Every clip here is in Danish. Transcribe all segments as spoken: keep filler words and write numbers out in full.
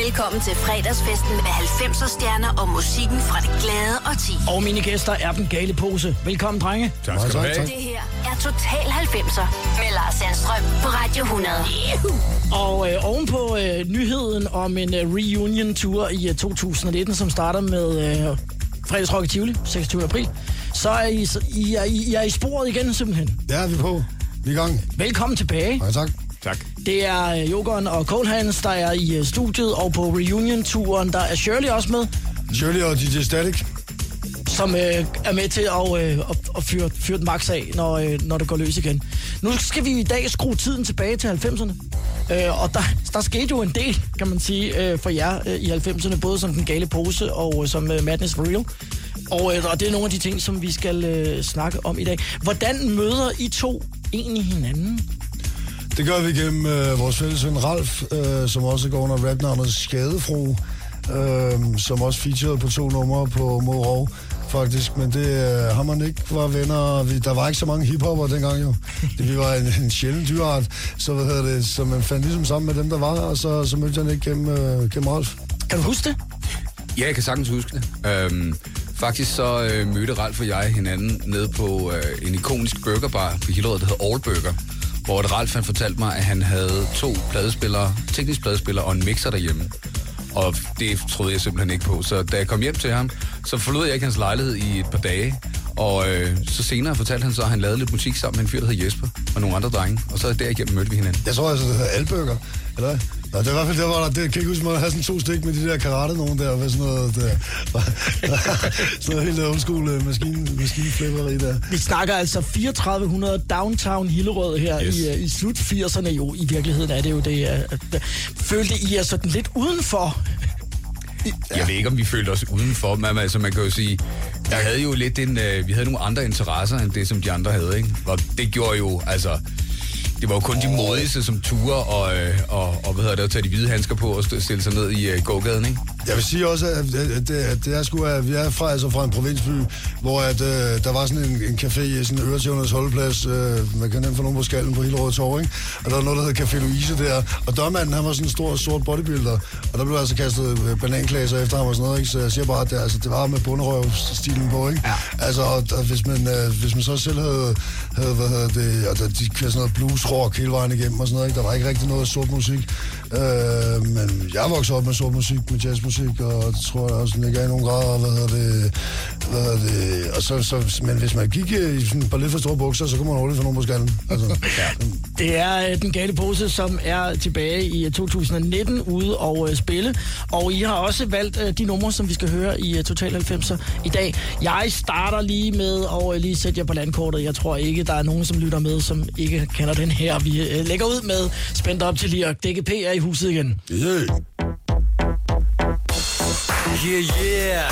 Velkommen til fredagsfesten med halvfemser stjerner og musikken fra det glade årti. Og mine gæster er den gale pose. Velkommen, drenge. Tak skal du have. Det her er Total halvfemser med Lars Sandstrøm på Radio hundrede. Yeah. Og øh, ovenpå øh, nyheden om en øh, reunion-tour i øh, to tusind nitten, som starter med øh, fredagsrock i Tivoli, seksogtyvende april, så er I, I, er, I, I er i sporet igen, simpelthen. Ja, vi er på. Vi er i gang. Velkommen tilbage. Ja, tak. Tak. Det er øh, Jokeren og Coldhands, der er i øh, studiet, og på reunion-turen, der er Shirley også med. Shirley og D J Static. Som øh, er med til at, øh, at, at fyre, fyre den max af, når, øh, når det går løs igen. Nu skal vi i dag skrue tiden tilbage til halvfemserne. Øh, og der, der skete jo en del, kan man sige, øh, for jer øh, i halvfemserne, både som den gale pose og øh, som øh, Madness for Real. Og, øh, og det er nogle af de ting, som vi skal øh, snakke om i dag. Hvordan møder I to egentlig hinanden? Det gør vi gennem øh, vores fælles ven Ralf, øh, som også går under rapnavnet Skadefro, øh, som også featurede på to numre på Mod Rov, faktisk. Men det øh, ham og Nick var venner. Vi, der var ikke så mange hiphopper dengang jo. Det, vi var en, en sjælden dyreart, så, hvad hedder det, så man fandt ligesom sammen med dem, der var, og så, så mødte jeg Nick gennem, øh, gennem Ralf. Kan du huske det? Ja, jeg kan sagtens huske det. Øhm, faktisk så øh, mødte Ralf og jeg hinanden nede på øh, en ikonisk burgerbar på Hillerød, der hedder All Burger, hvor Ralf han fortalte mig, at han havde to pladespillere, teknisk pladespillere og en mixer derhjemme. Og det troede jeg simpelthen ikke på. Så da jeg kom hjem til ham, så forlod jeg ikke hans lejlighed i et par dage. Og øh, så senere fortalte han så, at han lavede lidt musik sammen med en fyr, der hed Jesper, og nogle andre drenge. Og så derigennem mødte vi hinanden. Jeg tror altså, det hedder Alburger, eller hvad? Nå, det var i hvert fald der, hvor der, det kan ikke huske, man havde sådan to stik med de der karate nogen der, med sådan noget, der, sådan noget helt old school maskine, maskineflipperi der. Vi snakker altså fireogtredive hundrede downtown Hillerød her yes. i, i slut firserne jo. I virkeligheden er det jo det. At, følte I er sådan lidt udenfor? Ja. Jeg ved ikke, om vi følte os udenfor, men altså, man kan jo sige, jeg havde jo lidt en, øh, vi havde nogle andre interesser, end det, som de andre havde, ikke? Og det gjorde jo, altså, det var jo kun de modigste, som turer og, øh, og, og hvad hedder det, at tage de hvide handsker på og stille sig ned i øh, gågaden, ikke? Jeg vil sige også, at, at, det, at det er sgu, at vi er fra, altså fra en provinsby, hvor at, øh, der var sådan en, en café i sådan en øretævnernes holdeplads, øh, man kan nemt få nogen på skallen på Hillerød Torv, ikke? Og der var noget, der hed Café Louise der, og dørmanden, han var sådan en stor, sort bodybuilder, og der blev altså kastet bananklaser efter ham og sådan noget, ikke? Så jeg siger bare, at det, altså, det var med bunderøvstilen på, ikke? Ja. Altså, og, og hvis, man, øh, hvis man så selv havde, havde hvad hedder det, og der, de kørte sådan noget blues rock hele vejen igennem og sådan noget, ikke? Der var ikke rigtig noget sort musik, øh, men jeg voksede op med sort musik, med jazzmusik, og det tror jeg også ligger i nogle grader, hvad hedder det, hvad hedder det, og så, så, men hvis man gik i sådan et par lidt for store bukser, så kunne man hurtigt få nogen på skallen. Altså, ja. Det er uh, den gale pose, som er tilbage i uh, to tusind nitten ude og uh, spille, og I har også valgt uh, de numre, som vi skal høre i uh, Total halvfemser i dag. Jeg starter lige med at uh, lige sætte jer på landkortet. Jeg tror ikke, der er nogen, som lytter med, som ikke kender den her. Vi uh, lægger ud med Spændt op til lige, og D G P er i huset igen. Yeah. Yeah, yeah.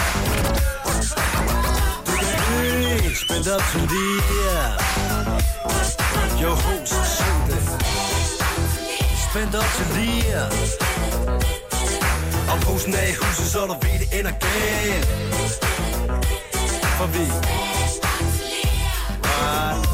Hey, spændt op til lige, yeah. Yo, host, syng det. Spændt op til lige, yeah. Og posen er i huset, så du ved, det ender galt. For vi right.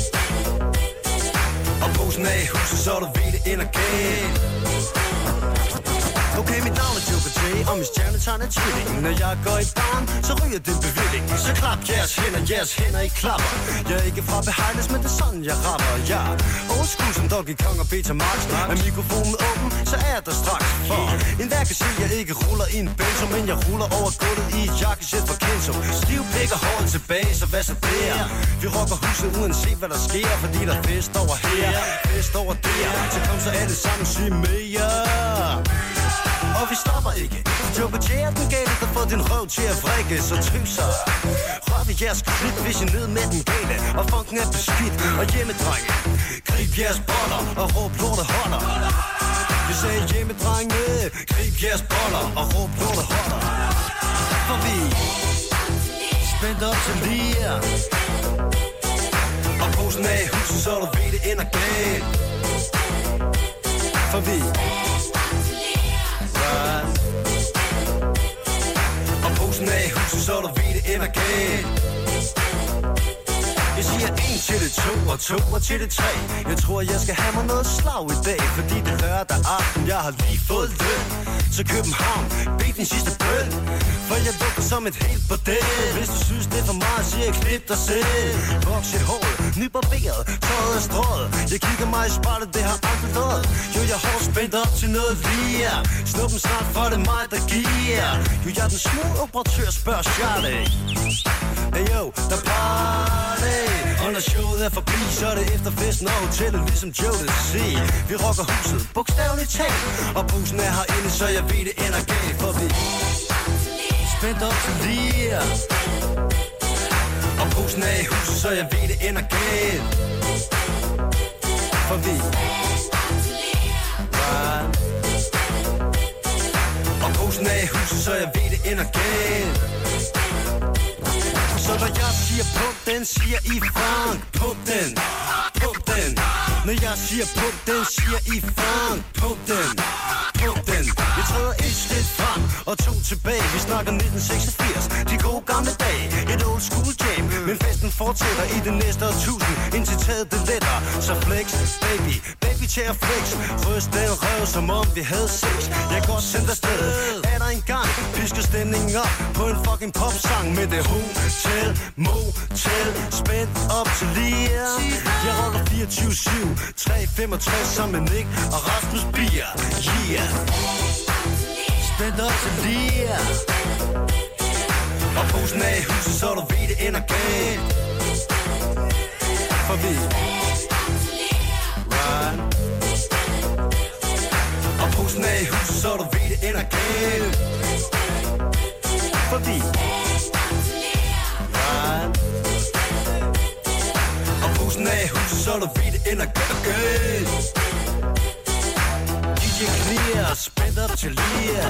Og posen er i huset, så du ved, det ender galt. Okay, mit navn er Joker J, og mit stjernetegn er tvilling. Når jeg går i barn, så ryger det bevilling. Så klap jeres hænder, jeres hænder i klapper. Jeg er ikke fra Behejles, men det er sådan, jeg rapper. Jeg er old school som Doggy Kong og Beta Max. Er mikrofonen åben, så er jeg der straks. For en hver kan se, jeg ikke ruller i en benzo, men jeg ruller over gulvet i et jakkesæt fra Kenzo. Stiv pik og håret tilbage, så hvad så der? Vi rocker huset uanset hvad der sker, fordi der er fest over her, fest over der. Så kom så alle sammen, sig mere. Og vi stopper ikke. Joker J er den gale, der får din røv til at vrikke. Så tøv sig. Rør ved jeres klip, hvis I ned med den gale. Og funken er beskidt og hjemmedrenge. Grib jeres boller og råb lortet holder. Vi sagde hjemmedrenge. Grib jeres boller og råb lortet holder. For vi spændt op til lige. Og posen er i huset, så du ved, det ender galt. For vi og posen er i huset, så du ved, det ender galt. Jeg siger siger en til det to og to og til det tre. Jeg tror jeg skal have mig noget slag i dag, fordi det er lørdag aften, jeg har lige fået løn. Så København, bed din sidste bøn, for jeg lugter som et helt bordel. Hvis du synes det er for meget, siger jeg klip dig selv. Voks i håret, nybarberet, tøjet er strået. Jeg kigger mig i spejlet, det har aldrig løjet. Jo, jeg har spændt op til noget lige. Snuppen snart, for det er mig, der giver. Jo, jeg er den smule operatør, spørger Charlie. Hey yo, der party. Og når showet er forbi, så er det efter festen og hotellet, ligesom Joe det siger. Vi rocker huset, bogstaveligt talt. Og bussen er herinde, så jeg ved det ender galt. For vi spændt op til lige. Og bussen er i huset, så jeg ved det ender galt. For vi right. Og bussen er i huset, så jeg ved det ender galt. Så når jeg siger pump den, siger I funk. Pump den, pump den. Når jeg siger pump den, siger I funk. Pump den, pump den. Vi træder et skridt frem og to tilbage. Vi snakker nitten seksogfirs, de gode gamle dage. Et old school jam, men festen fortsætter i det næste årtusind. Indtil taget det letter, så flex, baby. Baby til at flex. Ryst den røv, som om vi havde sex. Jeg går sendt afsted, er der en gang. Pisker stemningen op på en fucking popsang. Med det hotel, motel, spændt op til lige. Jeg roller fireogtyve syv, tre femogtres sammen med Nick og Rasmus Bier. Yeah. Spændt op til lige. Og posen er i huset, så du ved det ender galt. For vi right. Og posen er i huset, så du ved det ender galt. For vi right. Og posen er i huset, så du ved det ender galt. D J Clear, spændt op til lige.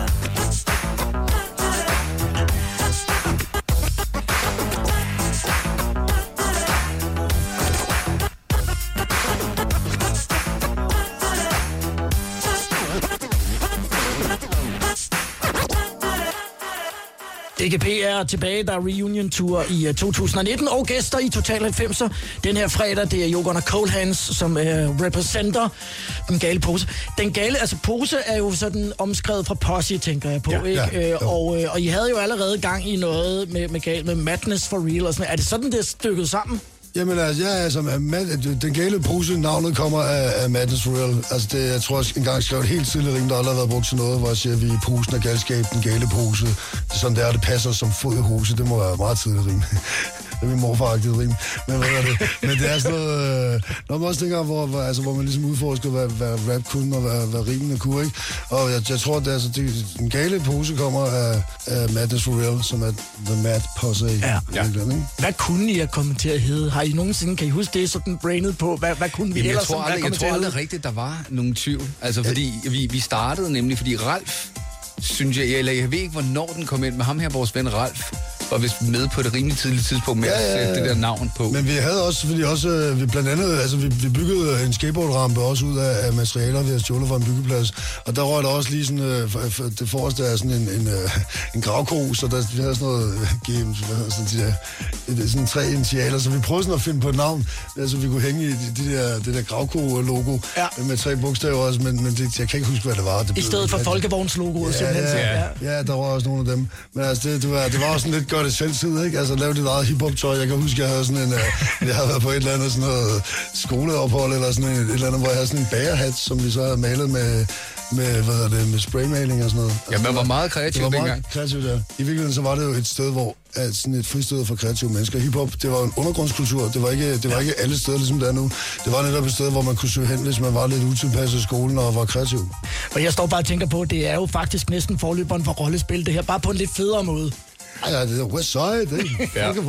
D G P er tilbage, der er reunion-tour i uh, to tusind nitten, og gæster i Total halvfemser. Den her fredag, det er Jogon og Cold Hands, som uh, repræsenter den gale pose. Den gale, altså pose er jo sådan omskrevet fra Posse, tænker jeg på, ja, ikke? Ja, ja. Og, uh, og I havde jo allerede gang i noget med, med, gal, med Madness for Real og sådan. Er det sådan, det er stykket sammen? Jamen altså, ja, altså, den gale pose, navnet kommer af, af Madness for Real. Altså, det, jeg tror, jeg engang skrev et helt tidligt rim, der aldrig har været brugt til noget, hvor jeg siger, at vi er posen af galskab, den gale pose. Det er sådan, det er, det passer som fod i hose. Det må være meget tidligt rim. Det er min morfaragtigt rim. Men hvad er det? Men det er sådan noget... Øh, når man også tænker, hvor, hvor, altså, hvor man ligesom udforsker, hvad, hvad rap kunne, og hvad, hvad rimene kunne, ikke? Og jeg, jeg tror, at det, altså, det, den gale pose kommer af, af Madness for Real, som er The Mad Posse. Ja. Ja. Ikke? Hvad kunne I have kommet til at hedde? Har I nogensinde, kan I huske det, sådan brainet på? Hvad, hvad kunne vi Jamen, ellers jeg tror aldrig, jeg tror aldrig til rigtigt, der var nogen tvivl. Altså, fordi vi, vi startede nemlig, fordi Ralf, synes jeg, eller jeg ved ikke, hvornår den kom ind, med ham her, vores ven Ralf, var vist med på et rimelig tidligt tidspunkt med ja, ja, ja. at sætte det der navn på. Men vi havde også, fordi også, vi blandt andet, altså vi, vi byggede en skateboardrampe også ud af, af materialer, vi havde stjålet fra en byggeplads, og der røg der også lige sådan, øh, for, det forreste er sådan en, en, øh, en gravko, så der, vi havde sådan noget, øh, games, hvad hedder sådan, de der, sådan tre initialer, så vi prøvede sådan at finde på et navn, altså vi kunne hænge i de der, det der gravko-logo ja. med tre bogstaver også, men, men det, jeg kan ikke huske, hvad det var. Det I stedet for folkevognslogoet, ja, simpelthen. Ja, ja, ja, der var også nogle af dem, men altså det, det, var, det var også sådan lidt godt det selvtid, ikke? Altså lave dit eget hiphop-tøj. Jeg kan huske, jeg havde sådan en, uh, jeg havde været på et eller andet sådan noget skoleophold, eller sådan et, et eller andet, hvor jeg havde sådan en bagerhat, som vi så havde malet med, med, hvad hedder det, med spraymaling og sådan noget. Ja, man var meget kreativ dengang. Det var meget kreativt, ja. I virkeligheden så var det jo et sted, hvor at sådan et fristed for kreative mennesker. Hiphop, det var en undergrundskultur. Det var ikke, det var ikke alle steder, ligesom det er nu. Det var netop et sted, hvor man kunne søge hen, hvis man var lidt utilpasset i skolen og var kreativ. Og jeg står bare og tænker på, at det er jo faktisk næsten forløberen for rollespil, det her, bare på en lidt federe måde. Ja, ja, det er West Side, det er ikke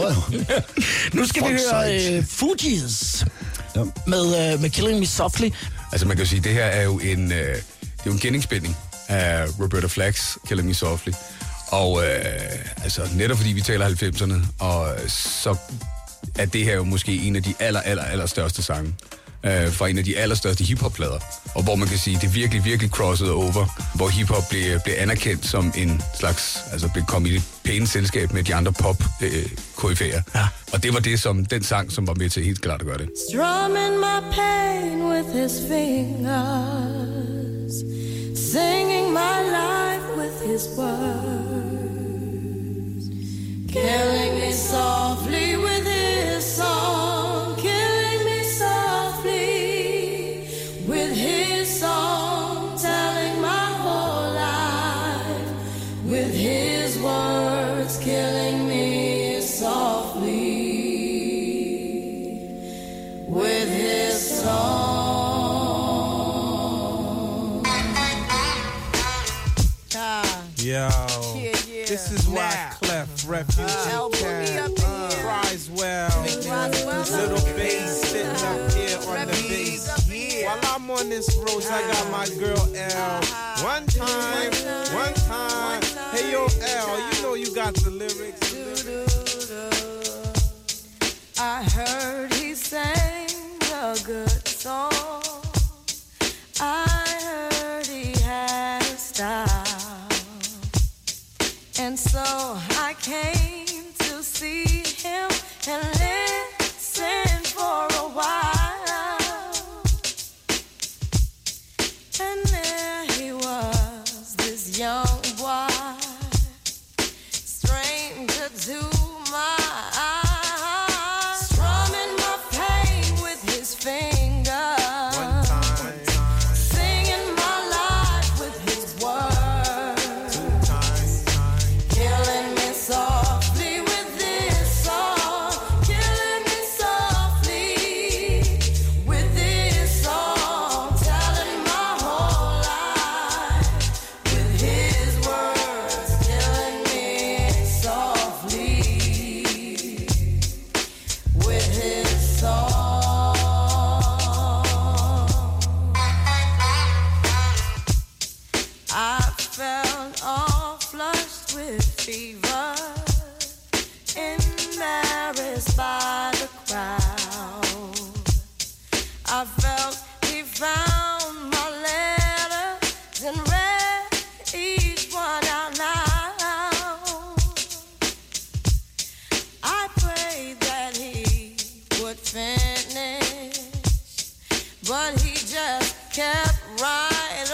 Nu skal Fuck vi høre uh, Fugees ja. med, uh, med Killing Me Softly. Altså man kan jo sige, det her er jo en, uh, det er jo en genindspilning af Roberta Flack's Killing Me Softly. Og øh, altså netop fordi vi taler halvfemserne, og så er det her jo måske en af de aller, aller, aller største sange øh, fra en af de allerstørste hiphop-plader, og hvor man kan sige, det virkelig, virkelig crossede over, hvor hiphop blev, blev anerkendt som en slags, altså blev kommet i det pæne selskab med de andre pop-koryfæer. Øh, ja. Og det var det, som den sang, som var med til helt klart at gøre det. Strumming my pain with his fingers, singing my life with his words, killing me softly with his song, killing me softly with his song, telling my whole life with his words, killing me softly with his song. Yo, yeah, yeah. This is why Clef, Refugee, uh, Cat, uh, cries well. Little bass sitting up here on the bass. While I'm on this road, I got my girl L. One time, one time. Hey yo, L, you know you got the lyrics. I heard he sang a good song. I heard he had a style. And so I came to see him and listen for a while. And there he was, this young boy, stranger to my eyes, strumming my pain with his fingers, one time, one time. Singing my life with his words, two times, time. Killing me softly with this song, killing me softly with this song, telling my whole life with his words, killing me softly with his song. I felt all flushed with fever, embarrassed by the crowd. I felt he found my letters and read each one out loud. I prayed that he would finish, but he just kept right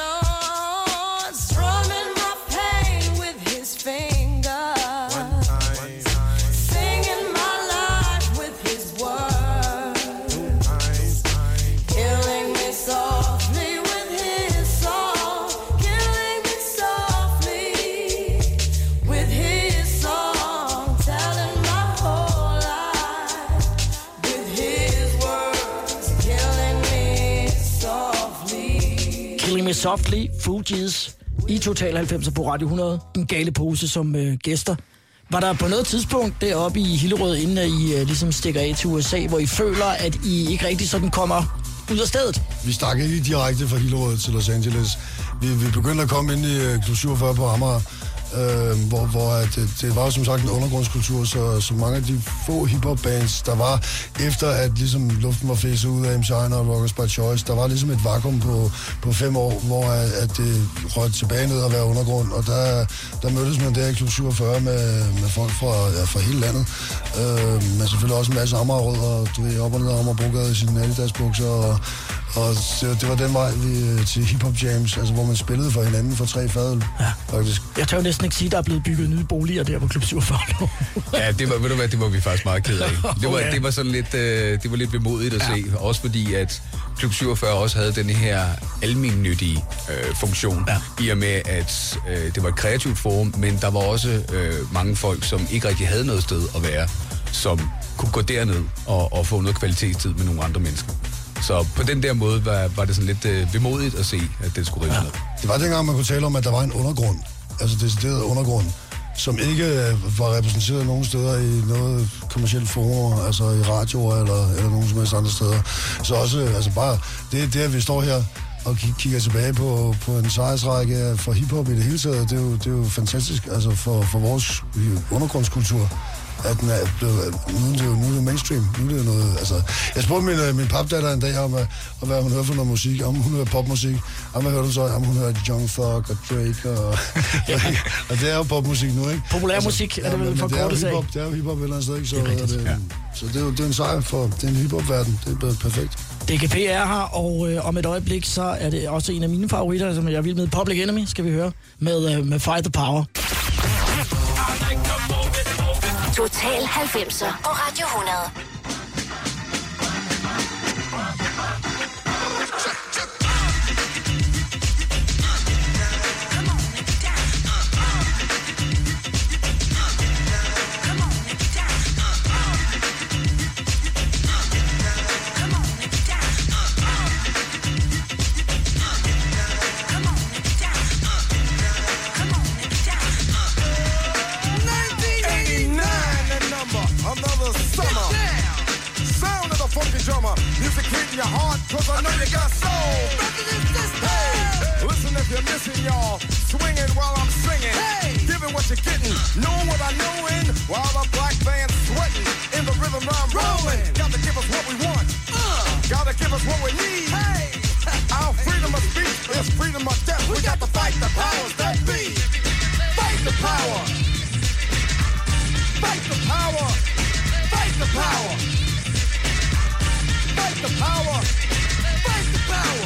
on, strumming my pain with his fingers, One time, one time, singing my life with his words, two times, time. killing me softly with his song, killing me softly with his song, telling my whole life with his words, killing me softly. Killing Me Softly, Fugees, i Total halvfemser på Radio hundrede. En gale pose som øh, gæster. Var der på noget tidspunkt deroppe i Hillerød, inden I øh, ligesom stikker af til U S A, hvor I føler, at I ikke rigtig sådan kommer ud af stedet? Vi stak ikke direkte fra Hillerød til Los Angeles. Vi, vi begyndte at komme ind i uh, Klub syvogfyrre på Amager, øh, hvor, hvor at, det, det var jo som sagt en undergrundskultur, så, så mange af de få hiphop-bands, der var efter, at ligesom luften var fæset ud af M C og Rockers by Choice, der var ligesom et vakuum på, på fem år, hvor at, at det røg tilbage ned og være undergrund, og der, der mødtes man der i Klub syvogfyrre med, med folk fra, ja, fra hele landet, øh, men selvfølgelig også en masse Amagerrødder, du ved, op og ned Amagerbrogade i sine Adidas-bukser, og Og det, det var den vej vi, til hiphop jams, altså hvor man spillede for hinanden for tre fadøl, ja. Faktisk. Jeg tør jo næsten ikke sige, at der er blevet bygget nye boliger der på Klub syvogfyrre. Ja, det var, ved du hvad, det var vi faktisk meget ked af. Det var, det var sådan lidt, øh, det var lidt vemodigt at ja. se, også fordi at Klub syvogfyrre også havde den her almennyttige øh, funktion, ja. i og med at øh, det var et kreativt forum, men der var også øh, mange folk, som ikke rigtig havde noget sted at være, som kunne gå derned og, og få noget kvalitetstid med nogle andre mennesker. Så på den der måde var, var det sådan lidt øh, vemodigt at se, at det skulle rives ja. ned. Det var dengang, man kunne tale om, at der var en undergrund, altså decideret undergrund, som ikke øh, var repræsenteret nogen steder i noget kommercielt forum, altså i radioer eller, eller nogen som helst andre steder. Så også, altså bare, det, det at vi står her og kigger tilbage på, på en sejrsrække for hiphop i det hele taget, det er jo, det er jo fantastisk, altså for, for vores undergrundskultur. at den er blevet, nu er det jo, nu er det mainstream. Nu er det jo noget, altså... Jeg spurgte min, min papdatter en dag om, at, om hvad hun hører for noget musik. Om hun hører popmusik. Om hvad hørte hun så? Om hun hører Young Thug og Drake og... og det er jo popmusik nu, ikke? Populær musik altså, er det vel for kortet sag. Det er jo hiphop et eller andet sted, ikke? Så det er rigtigt, det, ja. Så det er jo det er en sejr for den hiphop-verden. Det er blevet perfekt. D K P er her, og øh, om et øjeblik, så er det også en af mine favoritter, som jeg vil med. Public Enemy, skal vi høre, med, øh, med Fight the Power. Total halvfemser på Radio hundrede. Drummer, music hitting your heart, cause I know you got soul. Hey, listen if you're missing, y'all. Swinging while I'm singing. Hey, giving what you're getting, knowing what I know in. While the black band's sweating, in the rhythm I'm rolling. Gotta give us what we want. Uh, gotta give us what we need. Hey, our freedom of speech is freedom of death. We got to fight the powers that be. Fight the power. Fight the power. Fight the power. Fight the power! Fight the power!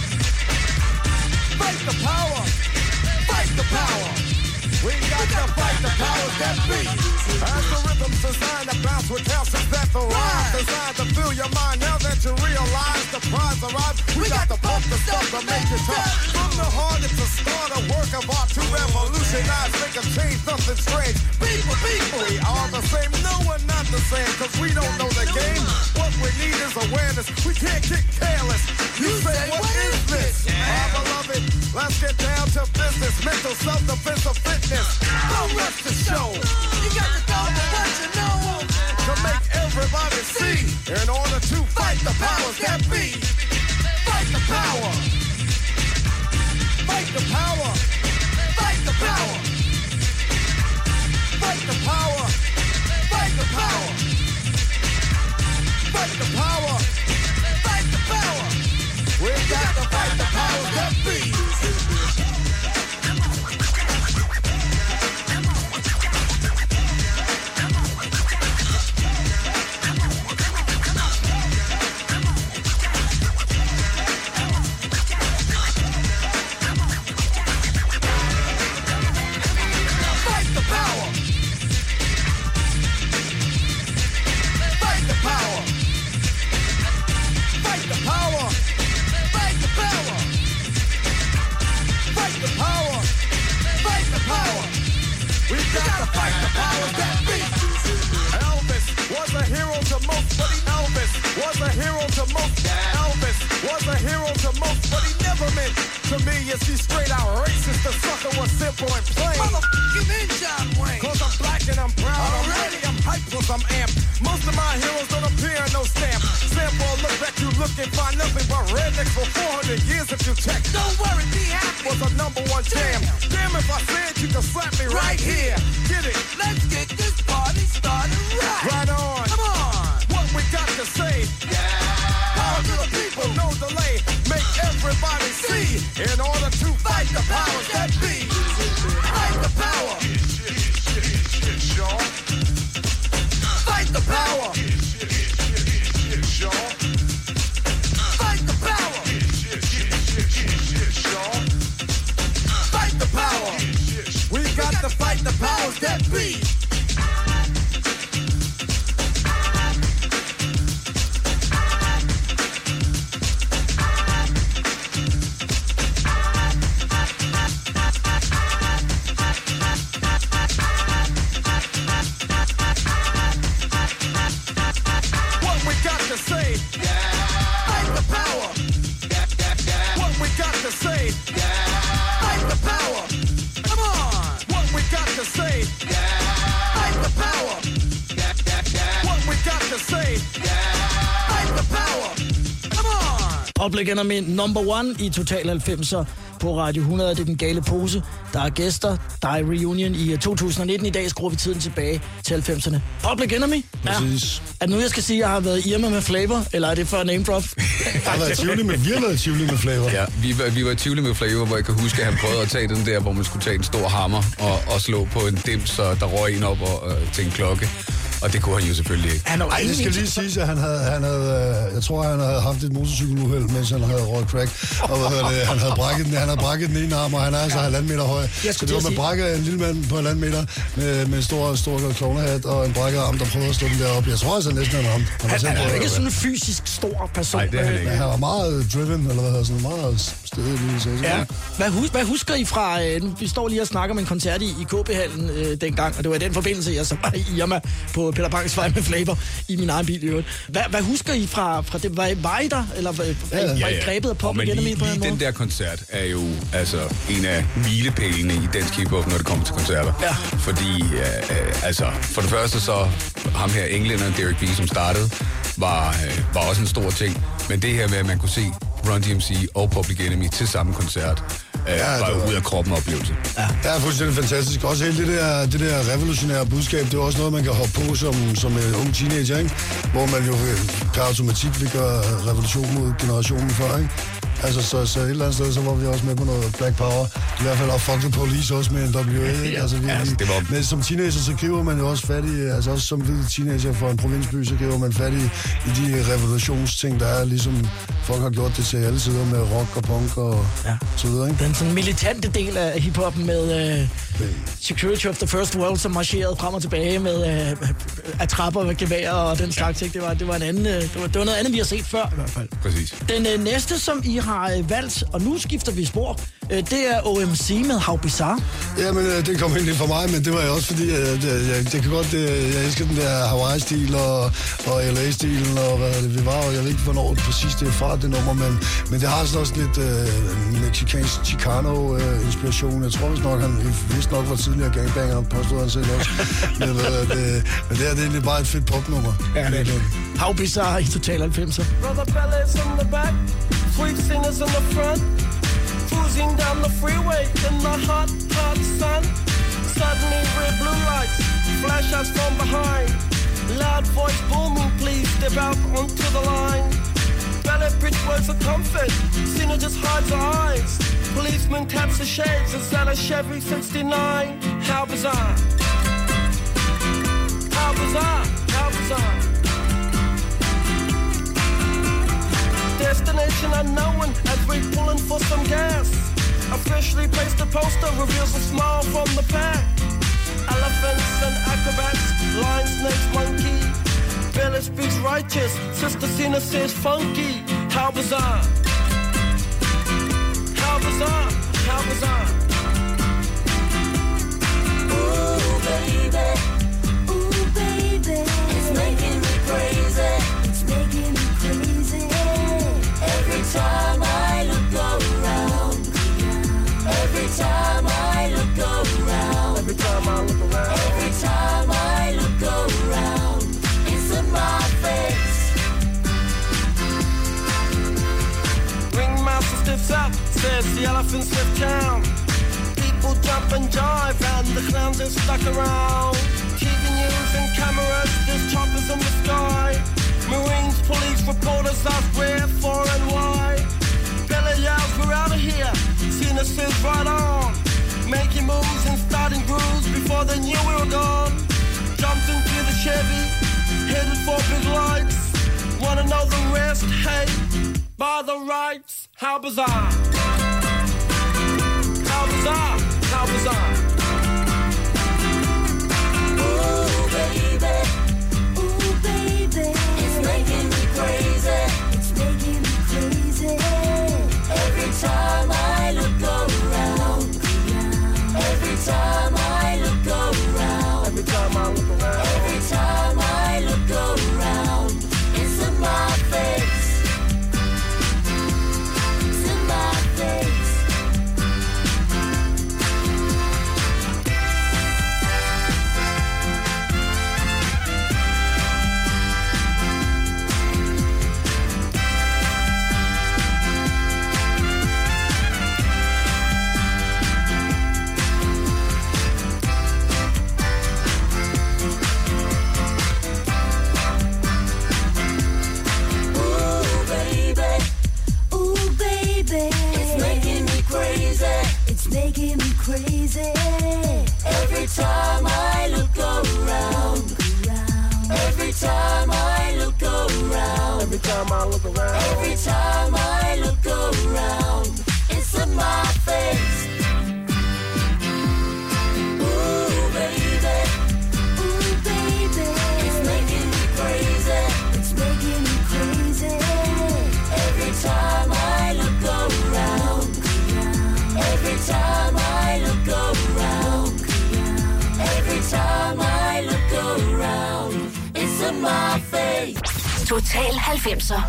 Fight the power! Fight the power! We got to fight the powers that be! As the rhythm's designed to bounce with calcium that the rise. Designed to fill your mind now that you realize the prize arrives. We, we got, got to pump the stuff to make it tough. From the heart it's a start, a work of art to revolutionize, make a change, nothing strange. People, people, we are the same, no we're not the same, cause we don't know the game. What we need is awareness, we can't get careless. You, you say, what, what is this? Yeah. Our beloved, let's get down to business. Mental self-defense of fitness. Don't rush the show. You got to go to what you know. To make everybody see. In order to fight the powers that be. Fight the power. Fight the power. Fight the power. Fight the power. Fight the power. Fight the power. Fight the power. We got to fight the powers that be. Public Enemy number one i Total halvfemser på Radio hundrede. Det er Den Gale Pose. Der er gæster. Der er reunion i to tusind nitten. I dag skruer vi tiden tilbage til halvfemserne. Public Enemy. Ja. Præcis. Er det nu, jeg skal sige, at jeg har været Irma med Flavor, eller er det for name drop? Jeg har været Tivoli med, vi har været Tivoli med Flavor. Ja, vi var, vi var Tivoli med Flavor, hvor jeg kan huske, at han prøvede at tage den der, hvor man skulle tage en stor hammer og, og slå på en dims, så der røg en op og, øh, til en klokke. Og det kunne han jo selvfølgelig ikke. Ej, det skal lige sige, at han havde, han havde, jeg tror, han havde haft et motorcykeluheld, mens han havde røget crack. Og hvad hedder det, han havde brækket den, han havde brækket den ene arm, og han er altså halvanden meter høj. Så det var med brækket af en lille mand på halvanden meter med, med en stor, stor klovnehat og en brækket arm, der prøvede at slå den derop. Jeg tror altså næsten, han ramte. Han, han, han er ikke sådan en fysisk stor person. Nej, det er han ikke. Han var meget driven, eller hvad hedder sådan, meget stedig lige. Ja. Hvad, hus, hvad husker I fra, øh, vi står lige og snakker om en koncert i, i K B-hallen øh, dengang, og det var i den forbindelse, jeg så var i Irma på Peter Bangs Vej med Flavor i min egen bil i øvrigt. Hvad, hvad husker I fra, fra det? Var I, var I der? Eller var, ja, var I ja, ja. grebet af Public Enemy lige, på den måde? den der koncert er jo altså en af milepælene i dansk hiphop, når det kommer til koncerter. Ja. Fordi, øh, altså, for det første så, ham her englænderen, Derek B., som startede, var, øh, var også en stor ting. Men det her med, at man kunne se Run D M C og Public Enemy til samme koncert, øh, ja, var jo ud af kroppen oplevelse. Ja, det er fuldstændig fantastisk. Også hele det der, det der revolutionære budskab, det er også noget, man kan hoppe på som, som en ung teenager, ikke? Hvor man jo per automatik vil gøre revolution mod generationen før, ikke? Altså, så, så et eller andet sted, så var vi også med på noget Black Power. I hvert fald og Fuck the Police også med en W A, ikke? Altså, vi, ja, altså, det var... Men som teenager, så griber man jo også fat i, altså også som hvid teenager fra en provinsby, så griber man fat i, i de revolutionsting, der er, ligesom folk har gjort det til alle sider med rock og punk og ja. så videre, ikke? Den sådan militante del af hiphoppen med uh, Security of the First World, som marcherede frem og tilbage med uh, attrapper med geværer og den slags, ikke? Det var, det var en anden, uh, det var, det var noget andet, vi har set før i hvert fald. Præcis. Den uh, næste, som I har uh, valgt, og nu skifter vi spor, uh, det er O M C med How Bizarre. Ja, men uh, det kom egentlig fra mig, men det var jo også fordi, uh, det, jeg, det kan godt, uh, jeg elsker den der Hawaii-stil og, og L A-stilen, og hvad det, vi var, og jeg ved ikke, hvornår præcis det er fra, det nummer, men, men det har sådan også lidt uh, mexicansk Chicano-inspiration. Uh, jeg tror vist nok, han vist nok var tidligere gangbanger, påstod han selv også. men, uh, det, men det er det egentlig bare et fedt popnummer. Ja, det er det. How Bizarre i Total halvfemser. Brother Bellas in the back, sweet singers in the front, cruising down the freeway in the hot, hot sun. Suddenly red blue lights, flash us from behind. Loud voice booming, please step out onto the line. Ballet bridge words of comfort, Cena just hides her eyes. Policeman taps the shades, is that a Chevy sixty-nine? How bizarre. How bizarre, how bizarre. Destination unknown as we're pulling for some gas. Officially placed a poster, reveals a smile from the pack. Elephants and acrobats, lion, snakes, monkey. Billy speaks righteous, Sister Cena says funky. How bizarre. How bizarre, how bizarre. Ooh, baby, ooh, baby, it's making me crazy, it's making me crazy. Every time I look around, every time I look around, every time I look around, every time I look around, it's in my face. Ringmaster stiffs up, says the elephants lift town. People jump and jive and the clowns are stuck around. T V news and cameras, there's choppers in the sky. Marines, police, reporters ask where, for and why. Bella yells, we're out of here. Cena says right on. Making moves and starting grooves before they knew we were gone. Jumped into the Chevy, headed for big lights. Wanna know the rest? Hey, by the rights. How bizarre. How bizarre. How bizarre. Ooh, baby. Ooh, baby. It's making me crazy. It's making me crazy. Every time I look around. Every time I look around. Every time I look around. Every time I look around. It's in my face. It's in my face. making me crazy. Every time I look around. Every time I look around. Every time I look around. Every time I look around. It's in my face. Ooh, baby. Ooh, baby. It's making me crazy. It's making me crazy. Every time I look around. Every time I look around. Every time I look around. It's in my face. Total halvfemser.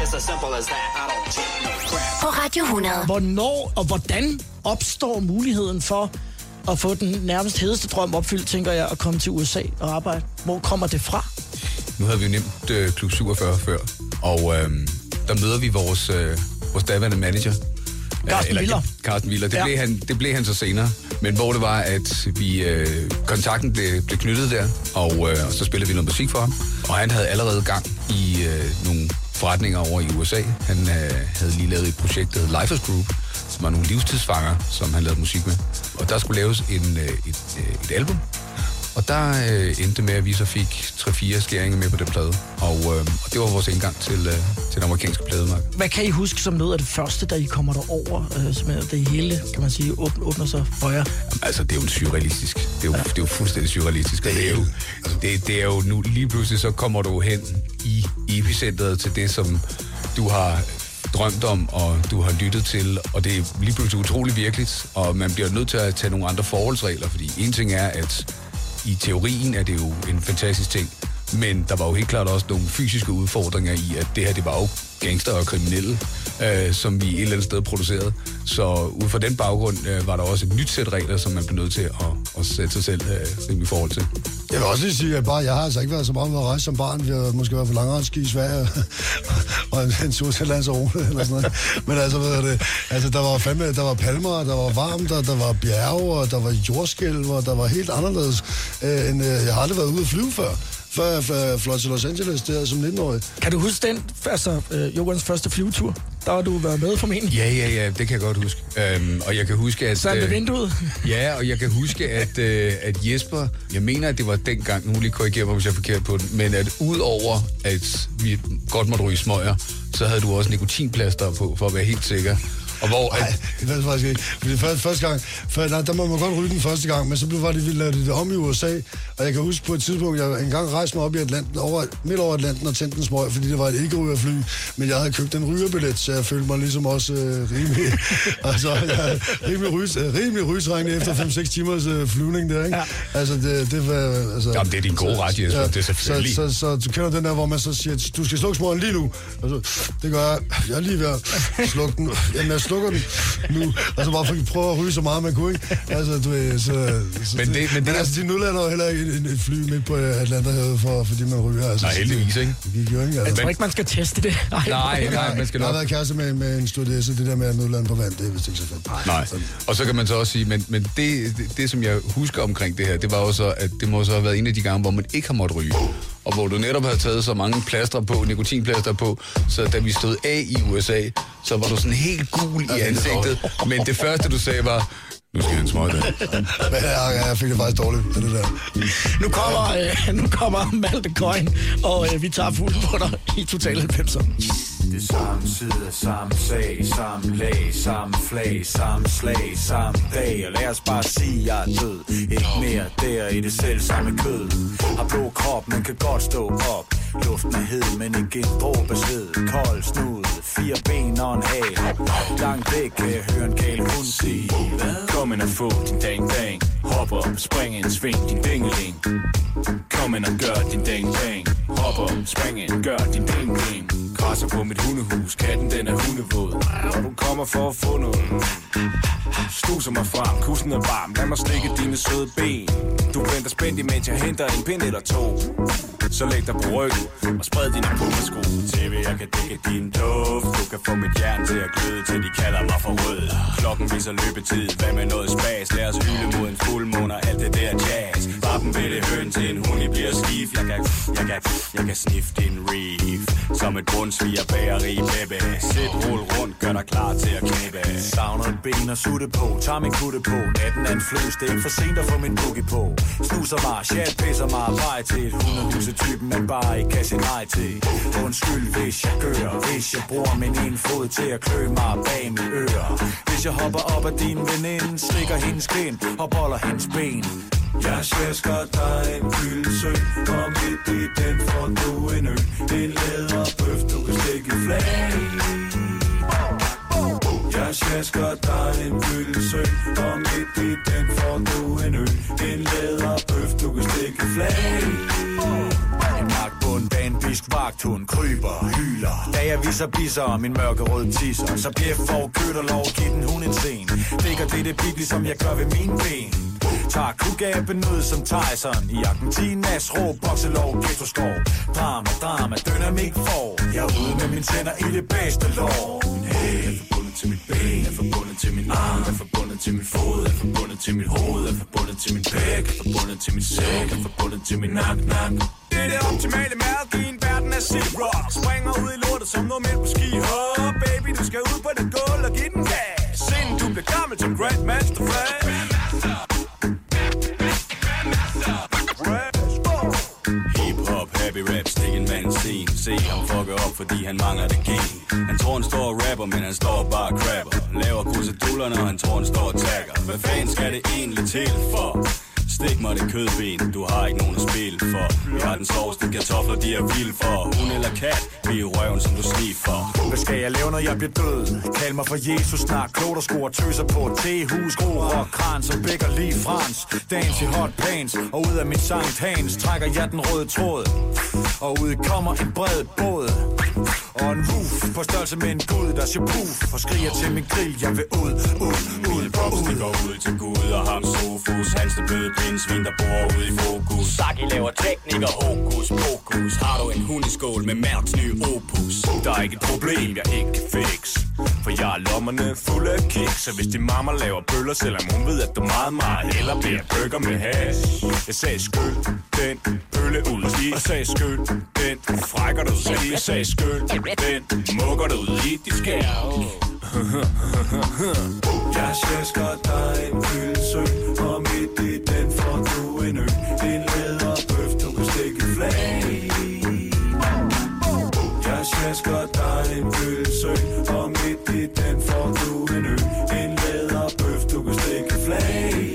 På Radio hundrede. Hvornår og hvordan opstår muligheden for at få den nærmest hedeste drøm opfyldt, tænker jeg, at komme til U S A og arbejde? Hvor kommer det fra? Nu havde vi jo nemt øh, Klub syvogfyrre før, og øh, der møder vi vores, øh, vores daværende manager. Carsten Willer. Carsten Willer. Det, ja. blev han, det blev han så senere. Men hvor det var, at vi øh, kontakten blev, blev knyttet der, og, øh, og så spillede vi noget musik for ham. Og han havde allerede gang i øh, nogle forretninger over i U S A. Han øh, havde lige lavet et projekt, der hed Lifers Group, som var nogle livstidsfanger, som han lavede musik med. Og der skulle laves en, øh, et, øh, et album. Og der øh, endte med, at vi så fik tre fire skæringer med på den plade. Og, øh, og det var vores indgang til, øh, til den amerikanske plademarked. Hvad kan I huske som noget af det første, da I kommer derover, øh, som det hele, kan man sige, åbner, åbner sig for jer? Jamen, altså, det er jo en surrealistisk. Det er jo, ja. det er jo fuldstændig surrealistisk. Det er jo, det, det er jo nu, lige pludselig så kommer du hen i epicentret til det, som du har drømt om, og du har lyttet til, og det er lige pludselig utrolig virkeligt, og man bliver nødt til at tage nogle andre forholdsregler, fordi en ting er, at i teorien er det jo en fantastisk ting, men der var jo helt klart også nogle fysiske udfordringer i, at det her, det var jo gangster og kriminelle, øh, som vi et eller andet sted producerede. Så ud fra den baggrund øh, var der også et nyt sæt regler, som man blev nødt til at, at sætte sig selv øh, i forhold til. Jeg vil også lige sige, at bare, jeg har altså ikke været så meget med at rejse som barn. Vi har måske været på langrendsski i Sverige og en, en tur til Lanzarote eller sådan noget. Men altså, hvad er det? Altså, der var fandme, der var palmer, der var varmt, der, der var bjerge, og der var jordskælv, og der var helt anderledes, øh, end øh, jeg har aldrig været ude at flyve før. Før jeg fløj til Los Angeles, der som nitten-årig. Kan du huske den, altså øh, Jokans første flyvetur? Der har du været med formentlig. Ja, ja, ja, det kan jeg godt huske. Øhm, og jeg kan huske, at... Så ved vinduet? Ja, og jeg kan huske, at, øh, at Jesper... Jeg mener, at det var dengang, nu lige korrigerer mig, hvis jeg er forkert på den, men at udover, at vi godt måtte ryge smøger, så havde du også nikotinplaster på, for at være helt sikker. Og hvor... Nej, det ved jeg faktisk ikke. Fordi første, første gang, for, nej, der må man godt ryge den første gang, men så blev det, vi lavede det om i U S A, og jeg kan huske på et tidspunkt, jeg engang rejste mig op i Atlanten, over, midt over Atlanten og tændte en smøg, fordi det var et ikke-rygerfly, men jeg havde købt en rygerbillet, så jeg følte mig ligesom også øh, rimelig, altså, jeg, rimelig, rys, øh, rimelig rysregnet efter fem seks timers øh, flyvning der, ikke? Ja. Altså, det, det var... Altså, jamen, det er din gode ret, Jesper, ja, det er selvfølgelig. Så, så, så, så du kender den der, hvor man så siger, du skal slukke smøgen lige nu. Altså, det gør jeg. Jeg er lige ved at slukke den. Jamen, jeg slukker den nu, og så bare for at prøve at ryge så meget, man kunne, ikke? Altså, du ved, så... så men det, men det men er... altså, de nudlander jo heller ikke et, et fly midt på Atlanterhavet, for, fordi man ryger. Altså, nej, heldigvis, ikke? Det gik jo ikke, altså. Jeg tror ikke, man skal teste det. Nej, nej, nej, man skal nok... Jeg har været kæreste med, med en stewardesse, det der med at nudlande på vand, det er vist ikke så fedt. Nej, og så kan man så også sige, men, men det, det, det, som jeg husker omkring det her, det var jo så, at det må så have været en af de gange, hvor man ikke har måttet ryge. Og hvor du netop havde taget så mange plaster på, nikotinplaster på, så da vi stod af i U S A, så var du sådan helt gul i ansigtet. Men det første, du sagde, var, nu skal jeg en smøg der. Ja, jeg fik det faktisk dårligt, det der. Nu kommer, øh, nu kommer Malte Coyne, og øh, vi tager fuld på dig i Total halvfemser. Det samme side, samme sag, samme lag, samme flag, samme slag, samme dag. Og lad os bare sige, jeg er død. Ikke mere der i det selv samme kød. Har blå krop, man kan godt stå op. Luften er hed, men ikke en dråbe sved. Kold snud, fire ben og en hal. Langt væk kan jeg høre en gal hund sige: kom ind og få din dang dang. Hop op, spring ind, sving din dingeling. Kom ind og gør din dang dang. Hop op, spring ind, gør din ding ding. Krasser på mit hundehus, katten den er hundevåd. Og du kommer for at få noget. Stuser mig frem, kussen er varm. Lad mig slikke dine søde ben. Du venter spændt, imens jeg henter en pind eller to. Så læg dig på ryggen og spred dine pumpersko. T V, jeg kan dække din duft. Du kan få mit hjerte til at gløde, til de kalder mig for rød. Klokken viser løbetid, hvad med noget spas? Lad os hylde mod en fuldmåne og alt det der jazz. Vappen ved det høn til en hund, I bliver stiv. Jeg kan, jeg kan, jeg kan sniffe din reef. Som et bundsviger bageri, baby. Sæt, rul rundt, gør dig klar til at knæppe. Savner et ben og sutte på, tager min kutte på. Natten er en fløs, det er ikke for sent at få min boogie på. Snuser mig, chat pisser mig vej til et hundehusetypen, man bare ikke kan sige nej til. Undskyld, hvis jeg gør, hvis jeg bruger min ene fod til at klø mig bag mine ører. Hvis jeg hopper op af din veninde, slikker hendes kind og boller hendes ben. Jeg sjasker dig en gyldsø, og midt i den får du en ø. En læderbøf, du kan stikke flag. Jeg sjasker dig en gyldsø, og midt i den får du en ø. En læderbøf, du kan stikke flag. En magtbund bag en bisk vagthund kryber, hyler. Da jeg viser bisser om min mørkerøde tisser, så bjef for kødt og lov, giv den hun en scene. Ligger det det bibli, som jeg gør ved mine ben. Tager kugaben ud som Tyson i Argentinas rå bokselov, ghetto-skov. Drama, drama, dynamik for. Jeg er ude med mine tænder i det bedste lov. Min hæl er forbundet til mit ben, er forbundet til min arm, er forbundet til min fod, er forbundet til mit hoved, er forbundet til min pæk, er forbundet til min sæk, er forbundet til min nak-nak. Det er det optimale mad, i en verden af C-rock. Springer ud i lortet som noget midt på ski. Oh, baby, du skal ud på det gulv og give den gas. Inden du bliver gammel som Grandmaster Flash. Hip-hop, happy rap, stik en mand scene. Se ham fucker op, fordi han mangler det gen. Han tror han står og rapper, men han står bare og crapper. Laver kruseduller, når han tror han står og tagger. Hvad fanden skal det egentlig til for? Stik mig det kødben, du har ikke nogen at spille for. Vi har den sovs, de kartofler, de er vilde for. Hun eller kat, vi er røven, som du sniffer. Hvad skal jeg lave, når jeg bliver død? Kald mig for Jesus, snak klogt og skruer tøser på T-hus, gro rock, kran, som bækker lige frans. Dans i hot pants, og ud af mit Sankt Hans trækker jeg den røde tråd. Og ud kommer en bred båd. Og en roof på størrelse med en gud, der siger puff og skriger til min grill, jeg vil ud, ud, ud, ud. Det går ud til Gud og ham Sofus. Hans det bløde pindsvin, der bor ude i fokus. Saki laver teknik og hokus pokus. Har du en hundeskål med Mærks nye opus? Der er ikke et problem, jeg ikke kan fix. For jeg er lommerne fulde af kiks. Så hvis din mamma laver bøller, selvom hun ved, at du meget, meget hellere bliver burger med hash. Jeg sagde skyld, den bølle ud i. Og sagde skyld, den frækker du ud i. Jeg sagde skyld, den mukker du ud i. De skær. Jeg sjasker dig en gyldsø, og midt i den får du en ø. En læderbøf, du kan stikke flag. Jeg sjasker dig en gyldsø, og midt i den får du en ø. En læderbøf, du kan stikke flag.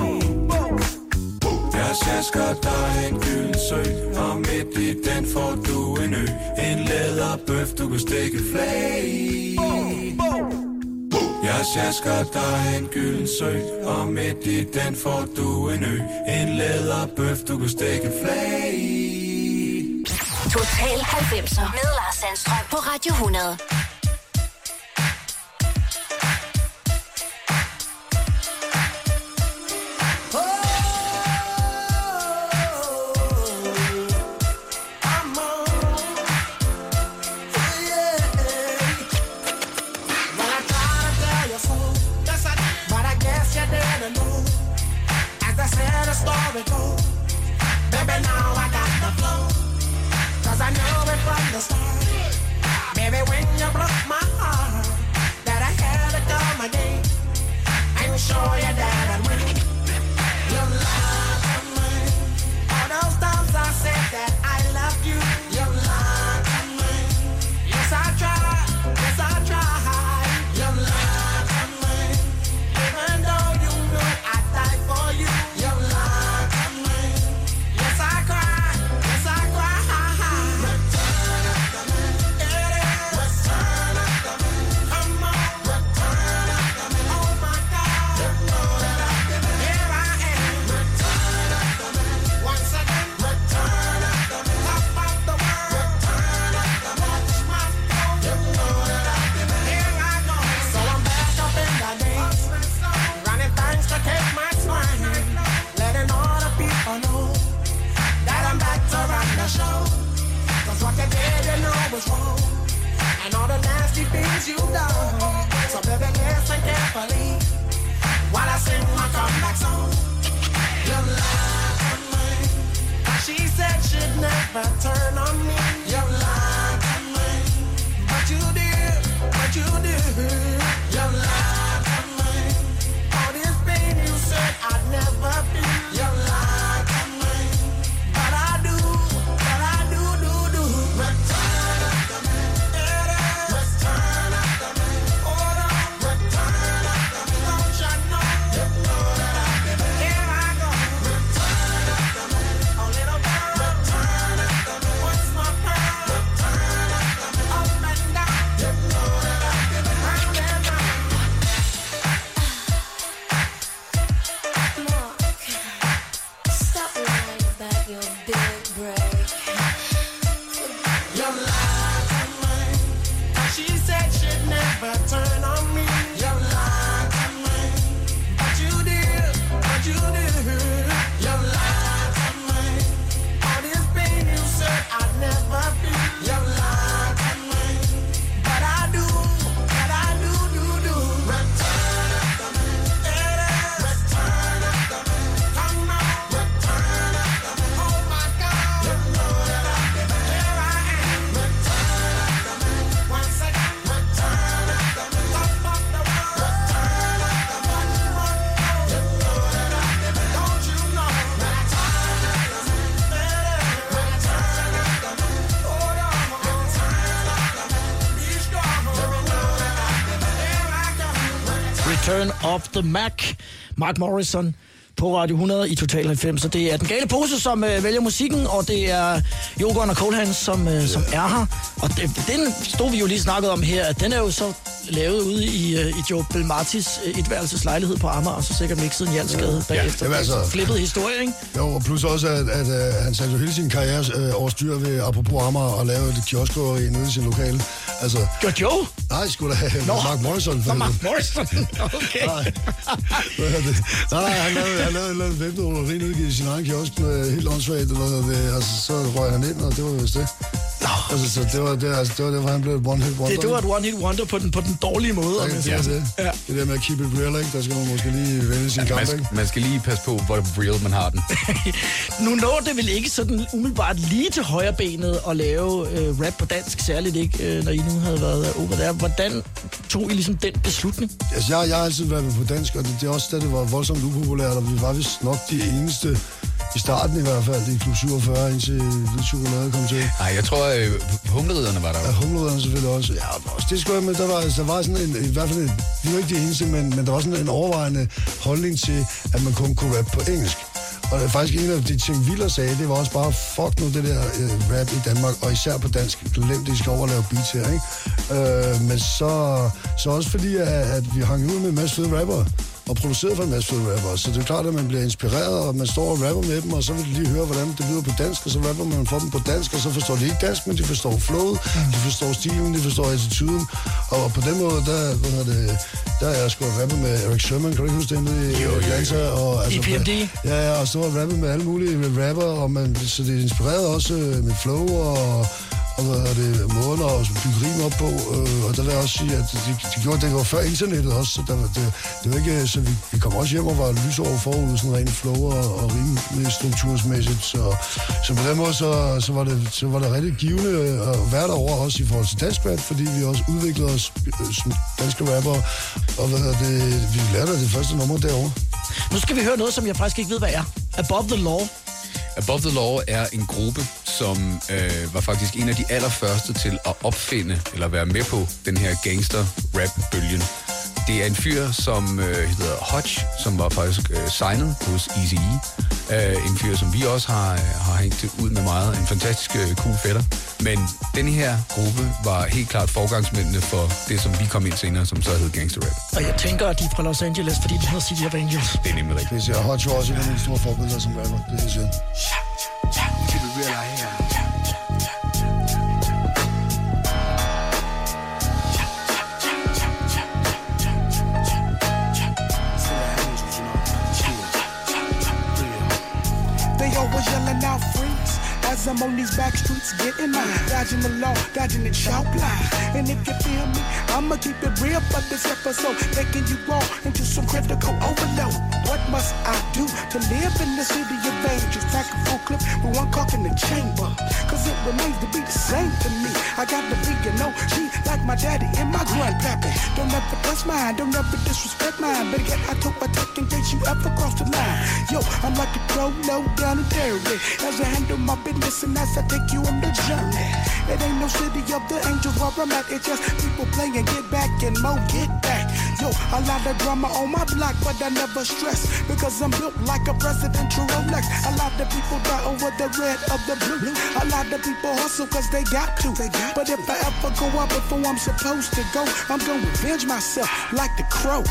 Jeg sjasker dig en gyldsø, og midt i den får du en ø. En læderbøf, du kan stikke flag. Jeg sjasker dig en gylden sø, og midt i den får du en ø. En læderbøf, du kan stikke flag i. Total halvfemser med Lars Sandstrøm på Radio hundrede. Baby, now I got the flow, 'cause I know it from the start. Baby, when you broke my heart, that I had to come again and show you that I win. You lied to me. All those times I said that I love you, you lied to me. Yes, I tried, yes, I tried. You lied to me. Even though you knew I'd die for you, you lied to me. Yes, I cried, yes, I cried. Return it to me. was wrong, and all the nasty things you've done. So baby, listen carefully while I sing my comeback song. You lied to me. She said she'd never turn on me. You lied to me, but you did, but you did. You lied to me. All this pain you said I'd never feel. You lied to me, but I do, but I do, do, do. Return after me, return after me. Hold on, return after me. Don't you know? You know that I did it. Here I go. Return after me, a little girl. Return after me. What's my pearl? Return after me. Up and down. You know that I did it. Round and round. Stop lying about your big break. You lied to me. She said she'd never turn on me. You lied to me, but you did, but you did. You lied to me. All this pain you said I'd never feel. You lied to me, but I do, but I do, do, do. Return after me, return after me. Come on, return after me. Oh my God, you know that I did it. Here I am. Return after me. Once again, return after me. Top of the world. Return after me. One more. You know that I did it. Don't you know? Return after me. Return after me. Hold on. Return after me. Be strong. You know that I did it. Here I go. Return of the Mac. Mark Morrison på Radio hundrede i Total halvfems. Så det er den gale pose, som øh, vælger musikken, og det er Jogon og Coldhands, som, øh, som er her. Og det, den stod vi jo lige snakket om her, at den er jo så lavet ude i, øh, i Joe Belmartis øh, etværelseslejlighed på Amager, og så sikkert mixet en Jalsgade Ja, bagefter. jamen altså- Flippet historie, ikke? Jo, og plus også, at, at, at han satte jo hele sin karriere øh, over styr ved, apropos Amager, og lave et kioskrøveri nede i sin lokale. Altså, Gør Joe? nej, skulle da have Nå. Mark Morrison. Nå, Mark Morrison. Okay. Nej, hvad hedder det? nej, nej, han lavede, han lavede et eller andet væbnet nede i sin egen kiosk med helt åndssvagt, eller hvad hedder det. Altså, så røg han ind, og det var vist det. Nå. Altså, så det var det, altså, det var det, hvor han blev et one-hit wonder. Det, det var et one-hit wonder på den, på den dårlige måde. Ja, om jeg det siger. er det. Ja. Det der med at keep it real, ikke? Der skal man måske lige vælge sin kamp, Man, ikke? skal, man skal lige passe på, hvor real man har den. Nu når det vel ikke sådan umiddelbart lige til højre benet at lave øh, rap på dansk, særligt ikke, øh, når I nu havde været øh, over der. Hvordan tog I ligesom den beslutning? Altså, jeg, jeg har altid været på dansk, og det, det er også da det var voldsomt upopulært, og vi var vist nok de eneste, i starten i hvert fald, i Klub syvogfyrre, indtil Lidt Chokolade kom til. Nej, jeg tror, øh, humleridderne var der. Ja, humleridderne selvfølgelig også. Ja, også det skulle jeg med, der var, der var sådan en, i hvert fald, en, vi var ikke de eneste, men, men der var sådan en overvejende holdning til, at man kun kunne rappe på engelsk. Og det er faktisk en af de ting, Viller sagde, det var også bare, fuck nu det der øh, rap i Danmark, og især på dansk, glem det, I skal over lave beats her, ikke? Øh, men så, så også fordi, at, at vi hang ud med en masse fede rappere, og produceret for en masse fede rappere, så det er klart, at man bliver inspireret, og man står og rapper med dem, og så vil de lige høre, hvordan det lyder på dansk, og så rapper man for dem på dansk, og så forstår de ikke dansk, men de forstår flowet, de forstår stilen, de forstår attituden, og på den måde, der, hvad hedder det, der er jeg sgu rappet med Eric Sherman, kan du ikke huske det med i Atlanta? Og, altså, I P M D? Ja, ja, og så har rappet med alle mulige rapper, og man, så det er inspireret også med flow, og og hvad er det, måden at bygge rim op på, øh, og der vil jeg også sige, at de, de gjorde det var før internettet også, så der, det, det var ikke, så vi, vi kom også hjem og var lysår forud, sådan rent flow og, og rimstruktursmæssigt, så, så på den måde, så, så, var det, så var det rigtig givende at være derovre også i forhold til dansk rap, fordi vi også udviklede os som danske rapper, og hvad er det, vi lærte det første nummer derovre. Nu skal vi høre noget, som jeg faktisk ikke ved, hvad er. Above the Law. Above the Law er en gruppe, som øh, var faktisk en af de allerførste til at opfinde, eller være med på den her gangster-rap-bølgen. Det er en fyr, som øh, hedder Hodge, som var faktisk øh, signet hos Eazy-E. Øh, en fyr, som vi også har, har hængt ud med meget. En fantastisk øh, cool fætter. Men den her gruppe var helt klart forgangsmændene for det, som vi kom ind senere, som så hed gangster-rap. Og jeg tænker, at de er fra Los Angeles, fordi de hedder City of Angels. Det er nemlig rigtigt. Det er Hodge var også en af mine store forbilleder som rapper, det er helt sikkert. Keep it real out here. They always yelling out freaks as Cause I'm on these back streets getting mine. Dodging the law, dodging the chalk line. And if you feel me, I'ma keep it real for this episode. Taking you all into some critical overload. What must I do to live in the city of angels? Pack a full clip with one cock in the chamber. Cause it remains to be the same to me. I got to be an O G like my daddy and my grandpappy. Don't ever touch mine, don't ever disrespect mine. But yet I took my tech in case you ever cross the line. Yo, I'm like a pro, low down and dirty. As I handle my business and as I take you on the journey. It ain't no city of the angels where I'm at. It's just people playing get back and more get back. Yo, a lot of drama on my block, but I never stress. Because I'm built like a presidential Rolex. A lot of people die over the red of the blue. A lot of people hustle cause they got to. But if I ever go out before I'm supposed to go, I'm gonna revenge myself like the crow.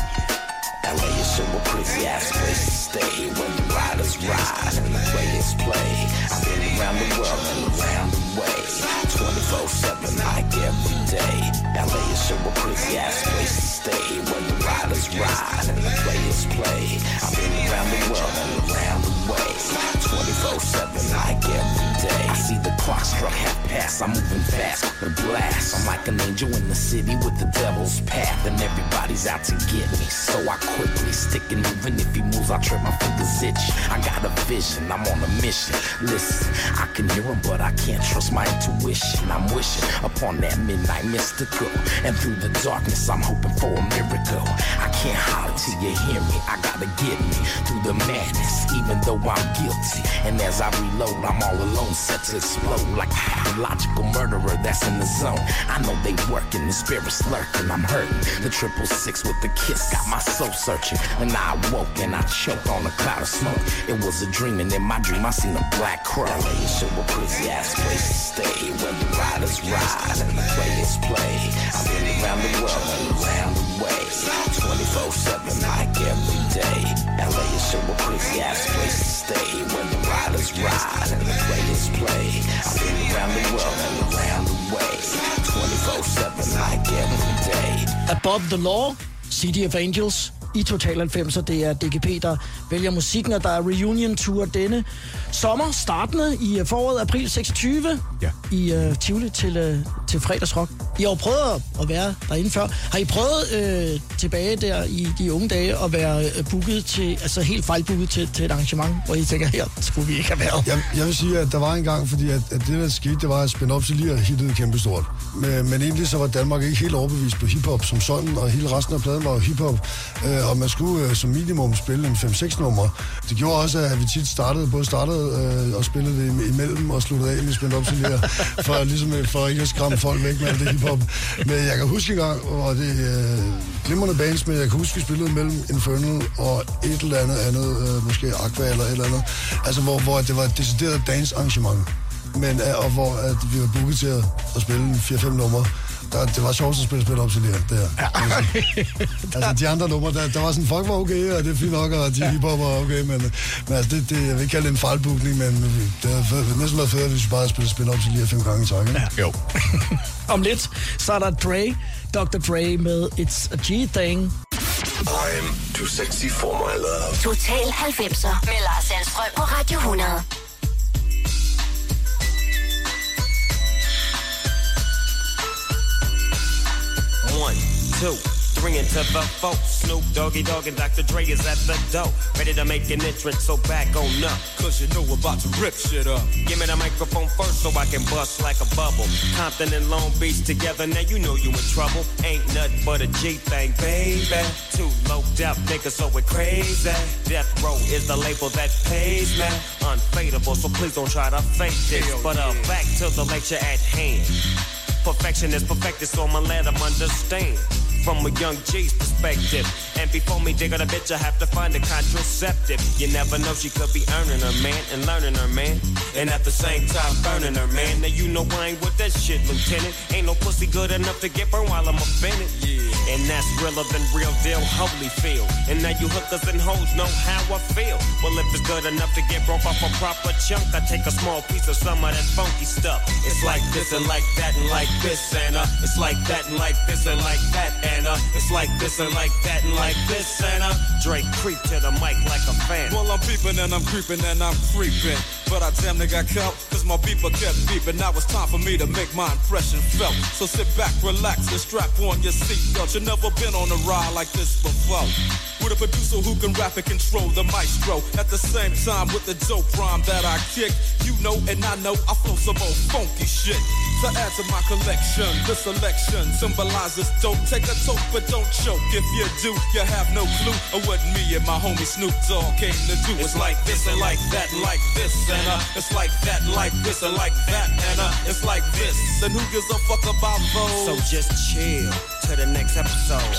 L A is so a crazy ass place to stay. When the riders ride and the players play. I've been around the world and around the way, twenty-four seven like every day. L A is so a crazy ass place to stay. When the riders ride and the players play. I've been around the world and around the way, twenty-four seven like every day. I see the clock struck half past, I'm moving fast with a blast. I'm like an angel in the city with the devil's path. And everybody's out to get me, so I quickly stick and moving. If he moves, I trip my fingers itch. I got a vision, I'm on a mission. Listen, I can hear him, but I can't trust my intuition. I'm wishing upon that midnight mystical. And through the darkness, I'm hoping for a miracle. I can't holler till you hear me. I gotta get me through the madness, even though I'm guilty. And as I reload, I'm all alone, set to explode like a logical murderer that's in the zone. I know they working, the spirit's lurking, I'm hurting. The triple six with the kiss got my soul searching. And I awoke and I choked on a cloud of smoke. It was a dream, and in my dream I seen a black crow. L A is so a crazy ass place to stay. When the riders ride and the players play. I've been around the world and around the way, twenty-four seven like every day. L A is so a crazy ass place to stay. When the riders ride and the players play. I've been around the world and around the way, twenty-four seven like every day. Above the Law, City of Angels i Total halvfemser. Det er D G P, der vælger musikken, og der er reunion tour denne sommer, startende i foråret, april seksogtyvende, ja. i uh, Tivoli til, uh, til fredagsrock. I har jo prøvet at være derinde før. Har I prøvet øh, tilbage der i de unge dage at være øh, booket til, altså helt fejlbooket til, til et arrangement, hvor I tænker, her skulle vi ikke have været? Jeg, jeg vil sige, at der var en gang, fordi at, at det der skete, det var at Spin Up lige hittede kæmpestort. Men, men egentlig så var Danmark ikke helt overbevist på hiphop som sådan, og hele resten af pladen var jo hiphop. Øh, og man skulle øh, som minimum spille en fem seks nummer. Det gjorde også, at vi tit startede, både startede øh, og spillede det imellem og sluttede af med Spin Up lige for, ligesom, for ikke at skræmme folk væk med alt det hiphop. Men jeg kan huske en gang, og det er øh, glimrende bands, men jeg kan huske, vi spillede mellem Infernal og et eller andet andet, øh, måske Aqua eller et eller andet, altså hvor, hvor det var et decideret dance-arrangement, men, øh, og hvor at vi var booket til at, at spille fire fem numre. Der, det var sjovt at spille spil op til det her. Ja. Altså, de andre numre, der, der var sådan, folk var okay, og det er fint nok, og de hiphop var okay, men, men altså, det, det, jeg vil ikke kalde det en fejlbookning, men det har næsten været fedt, hvis vi bare spiller spil op til lige fem gange i tak, ikke? Ja. Jo. Om lidt, så er der Dre, doktor Dre med It's a G-Thing. I'm too sexy for my love. Total halvfemser med Lars Sandstrøm på Radio hundrede. One, two, three into the four. Snoop Doggy Dogg and Doctor Dre is at the door, ready to make an entrance, so back on up. Cause you know we're about to rip shit up. Give me the microphone first so I can bust like a bubble. Compton and Long Beach together, now you know you in trouble. Ain't nothing but a G thing, baby. Too low death niggas, so we're crazy. Death Row is the label that pays me. Unfadable, so please don't try to fake this. But uh, back to the lecture at hand. Perfection is perfected, so I'ma let them understand from a young G's perspective. And before me dig on a bitch, I have to find a contraceptive. You never know, she could be earning her man and learning her man, and at the same time burning her man. Now you know I ain't with that shit, Lieutenant. Ain't no pussy good enough to get burned while I'm offended. Yeah. And that's realer than real deal, Holyfield. And now you hookers and hoes know how I feel. Well, if it's good enough to get broke off a proper chunk, I take a small piece of some of that funky stuff. It's like this and like that and like this and uh, it's like that and like this and like that and uh, it's like this and like that and like this and uh, Drake creep to the mic like a fan. Well, I'm peeping and I'm creeping and I'm creeping. But I damn near got caught, cause my beeper kept beeping. Now it's time for me to make my impression felt. So sit back, relax, and strap on your seatbelt. You've never been on a ride like this before. With a producer who can rap and control the maestro. At the same time with the dope rhyme that I kick. You know and I know I flow some old funky shit. To add to my collection, the selection symbolizes dope. Take a toke but don't choke. If you do, you have no clue of what me and my homie Snoop Dogg came to do. It's like this and like that and like this and uh, it's like that and like this and like that and uh, it's like this. And who gives a fuck about those? So just chill to the next episode.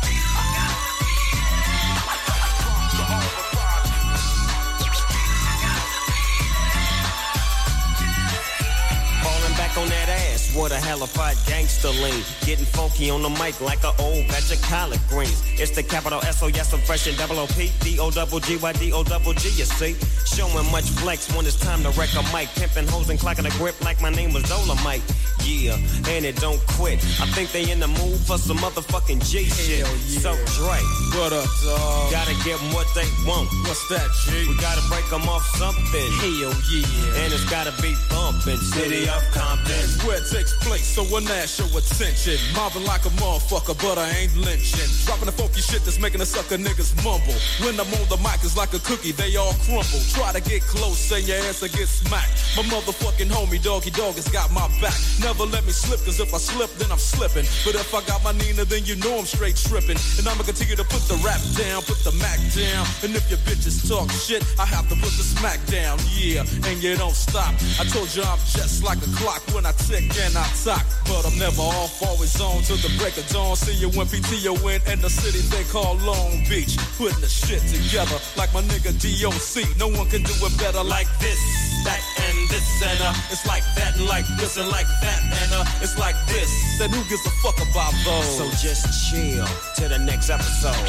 Back on that ass, what a hellified gangster lean. Getting funky on the mic like an old batch of collard greens. It's the capital S O, yes, I'm fresh and double O P. D O double G Y D O double G, you see. Showing much flex when it's time to wreck a mic. Pimping hoes and clocking a grip like my name was Dolomite. Yeah, and it don't quit. I think they in the mood for some motherfucking G shit. Yeah. So Dre, what up, dog? Gotta give them what they want. What's that, G? We gotta break them off something. Hell yeah. And it's gotta be bumping. City of Compton. Where it takes place, so when I show attention. Mobbing like a motherfucker, but I ain't lynching. Dropping the funky shit that's making the sucker niggas mumble. When I'm on the mic, it's like a cookie, they all crumble. Try to get close, say your ass will get smacked. My motherfucking homie, Doggy Dog, has got my back. Never let me slip, cause if I slip, then I'm slipping. But if I got my Nina, then you know I'm straight tripping. And I'ma continue to put the rap down, put the Mac down. And if your bitches talk shit, I have to put the smack down, yeah. And you don't stop. I told you I'm just like a clock when I tick and I talk. But I'm never off, always on till the break of dawn. See you when P T O in and the city they call Long Beach. Putting the shit together like my nigga D O C. No one can do it better like this, that and this and uh. It's like that and like this and like that and uh. It's like this, then who gives a fuck about those? So just chill to the next episode.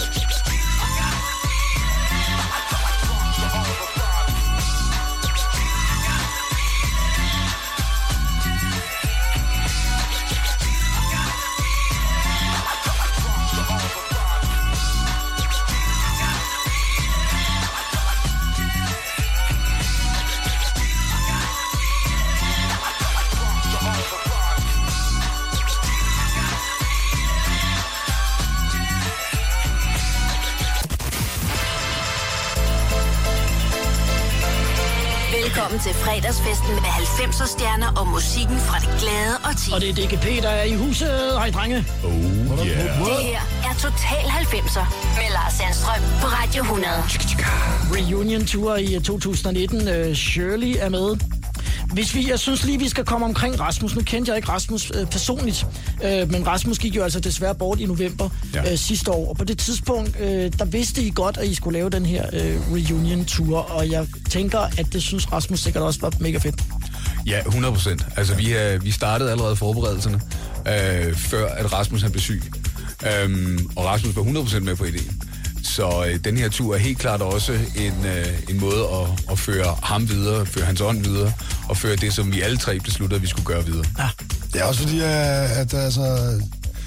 Velkommen til fredagsfesten med halvfemser stjerner og musikken fra det glade og ti. Og det er D G P, der er i huset. Hej, drenge. Oh, yeah. Det her er Total halvfemser med Lars Sandstrøm på Radio hundrede. Reunion Tour i to tusind nitten. Uh, Shirley er med. Hvis vi, jeg synes lige, vi skal komme omkring Rasmus. Nu kendte jeg ikke Rasmus øh, personligt, øh, men Rasmus gik jo altså desværre bort i november ja. øh, sidste år. Og på det tidspunkt, øh, der vidste I godt, at I skulle lave den her øh, reunion-tour. Og jeg tænker, at det synes Rasmus sikkert også var mega fedt. Ja, hundrede procent. Altså, vi, øh, vi startede allerede forberedelserne, øh, før at Rasmus han blev syg. Øhm, og Rasmus var hundrede procent med på ideen. Så øh, den her tur er helt klart også en, øh, en måde at, at føre ham videre, føre hans ånd videre, og føre det, som vi alle tre besluttede, at vi skulle gøre videre. Ja. Det er også fordi, at, at altså...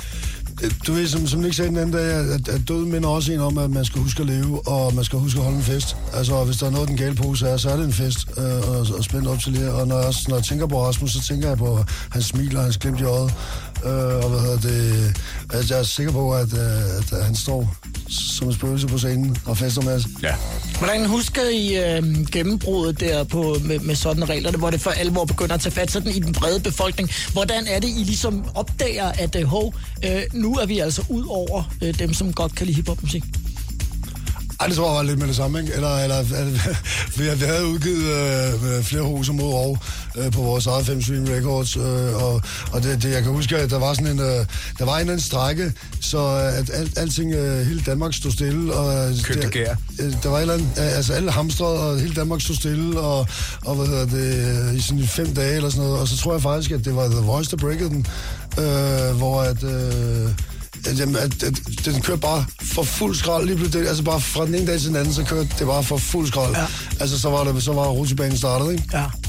Du ved, som, som Nick sagde den anden dag, at, at døden minder også en om, at man skal huske at leve, og man skal huske at holde en fest. Altså, hvis der er noget, den gale pose er, så er det en fest, øh, og, og spændt op til det. Og når jeg, når jeg tænker på Rasmus, så tænker jeg på hans smil og hans glimt i øjet. Øh, og hvad hedder det... Altså, jeg er sikker på, at, at, at han står som en spøgelse på scenen og fester med os. Ja. Hvordan husker I øh, gennembruddet der på, med, med sådan regler, hvor det for alvor begynder at tage fat sådan i den brede befolkning? Hvordan er det, I ligesom opdager, at øh, hov, øh, nu er vi altså ud over øh, dem, som godt kan lide hiphopmusik? Ej, det tror jeg var lidt med det samme, ikke? Eller, eller vi, vi havde udgivet øh, flere hoser mod rov øh, på vores eget fem Stream Records, øh, og, og det, det, jeg kan huske, at der var sådan en, øh, der var en eller anden strække, så at alt, alting, øh, hele Danmark stod stille. Og, Købte gær. Øh, der var et eller andet, altså alle hamstrede, og hele Danmark stod stille, og, og hvad hedder det, i sådan fem dage eller sådan noget, og så tror jeg faktisk, at det var The Voice, der breakede den, øh, hvor at... Øh, Jamen, at, at, den kørte bare for fuld skrald lige pludselig. Altså bare fra den ene dag til den anden, så kørte det bare for fuld skrald. Ja. Altså så var det, så var rutsjebanen startet, ikke? Ja.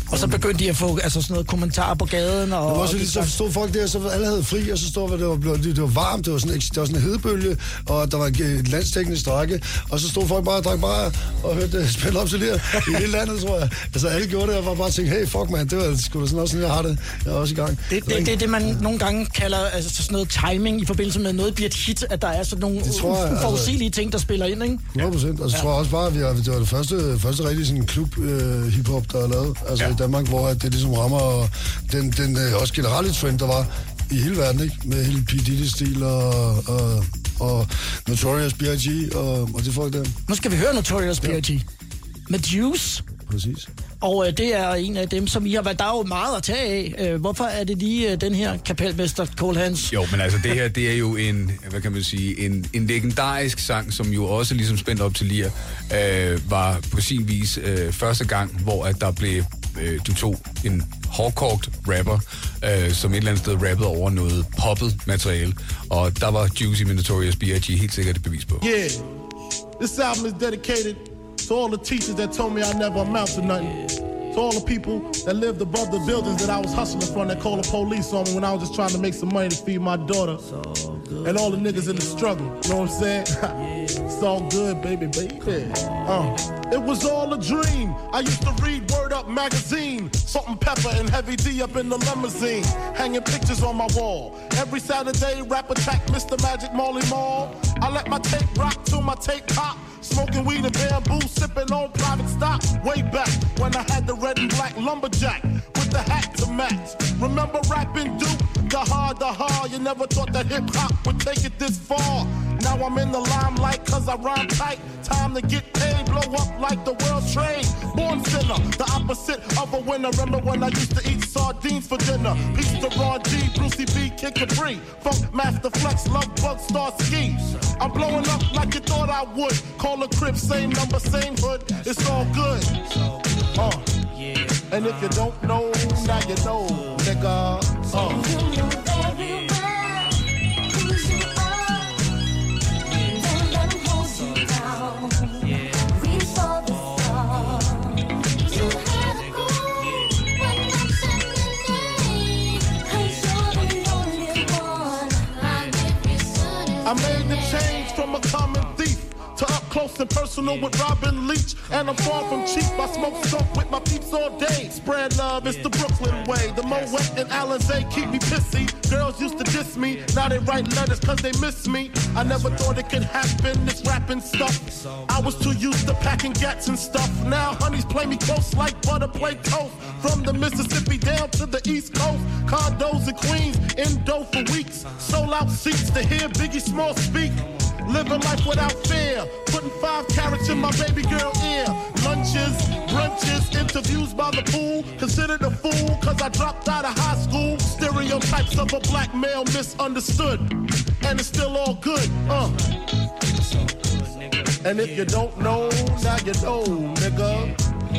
Og så begyndte de at få altså, sådan noget kommentarer på gaden. Og, det var også og lidt, så stod folk der, så alle havde fri, og så stod det var, det var varmt, det var sådan, det var sådan en hedebølge, og der var et landstækkende strække, og så stod folk bare og drak bare og hørte spil op til det i hele landet, tror jeg. Altså alle gjorde det, og var bare tænkte, hey, fuck man, det var sgu da sådan også sådan, jeg har det. Jeg er også i gang. Det, det, det er det, man nogle gange kalder altså, sådan noget timing i forbindelse med noget bliver et hit, at der er sådan nogle uforudsigelige altså, ting, der spiller ind, ikke? hundrede procent, og så ja. tror jeg også bare, at vi har, det var det første, første rigtig sådan klub øh, hiphop, der er lavet, altså ja. i Danmark, hvor det ligesom rammer og den, den øh, også generelle trend, der var i hele verden, ikke? Med hele P. Diddy-stil og, og, og Notorious B I G og, og de folk der. Nu skal vi høre Notorious B I G. Ja. Med Juice. Præcis. Og øh, det er en af dem, som I har været, der er jo meget at tage af. Øh, hvorfor er det lige øh, den her kapelmester, Cole Hans? Jo, men altså det her, det er jo en, hvad kan man sige, en, en legendarisk sang, som jo også ligesom spændt op til Lir, øh, var på sin vis øh, første gang, hvor at der blev, øh, du tog en hårdkogt rapper, øh, som et eller andet sted rappede over noget poppet materiale, og der var Juicy med Notorious B I G helt sikkert et bevis på. Yeah, this album is dedicated to all the teachers that told me I never amount to nothing. To all the people that lived above the buildings that I was hustling from that called the police on me when I was just trying to make some money to feed my daughter. And all the niggas in the struggle, you know what I'm saying? It's all good, baby, baby. Uh, it was all a dream. I used to read Word Up magazine, Salt and Pepper and Heavy D up in the limousine, hanging pictures on my wall. Every Saturday, rap attack, Mister Magic Molly Mall. I let my tape rock till my tape pop. Smoking weed and bamboo, sipping on private stock. Way back when I had the red and black lumberjack with the hat to match. Remember rapping Duke? The hard, the hard. You never thought that hip hop would take it this far. Now I'm in the limelight cause I rhyme tight. Time to get paid, blow up like the world trade. Born sinner, the opposite of a winner. Remember when I used to eat sardines for dinner? Peace to Ron G, Brucey B, Kid Capri, Funk Master Flex, Love Bug, Star Ski. I'm blowing up like you thought I would. Call a crib, same number, same hood. It's all good. Uh. And if you don't know, now you know, nigga. Uh. I made the change from a common thief to up close and personal with Robin Leach. And I'm far from cheap, I smoke skunk with my peeps all day. Spread love, it's the Brooklyn way. The Moet and Alizé keep me pissy. Girls used to diss me, now they write letters cause they miss me. I never thought it could happen, this rapping stuff. I was too used to packing gats and stuff. Now honeys play me close like butter play toast. From the Mississippi down to the East Coast. Condos in Queens, in dough for weeks. Sold out seats to hear Biggie Small speak. Living life without fear, putting five carats in my baby girl ear. Lunches, brunches, interviews by the pool. Considered a fool cause I dropped out of high school. Stereotypes of a black male misunderstood. And it's still all good, uh. And if you don't know, now you know, nigga.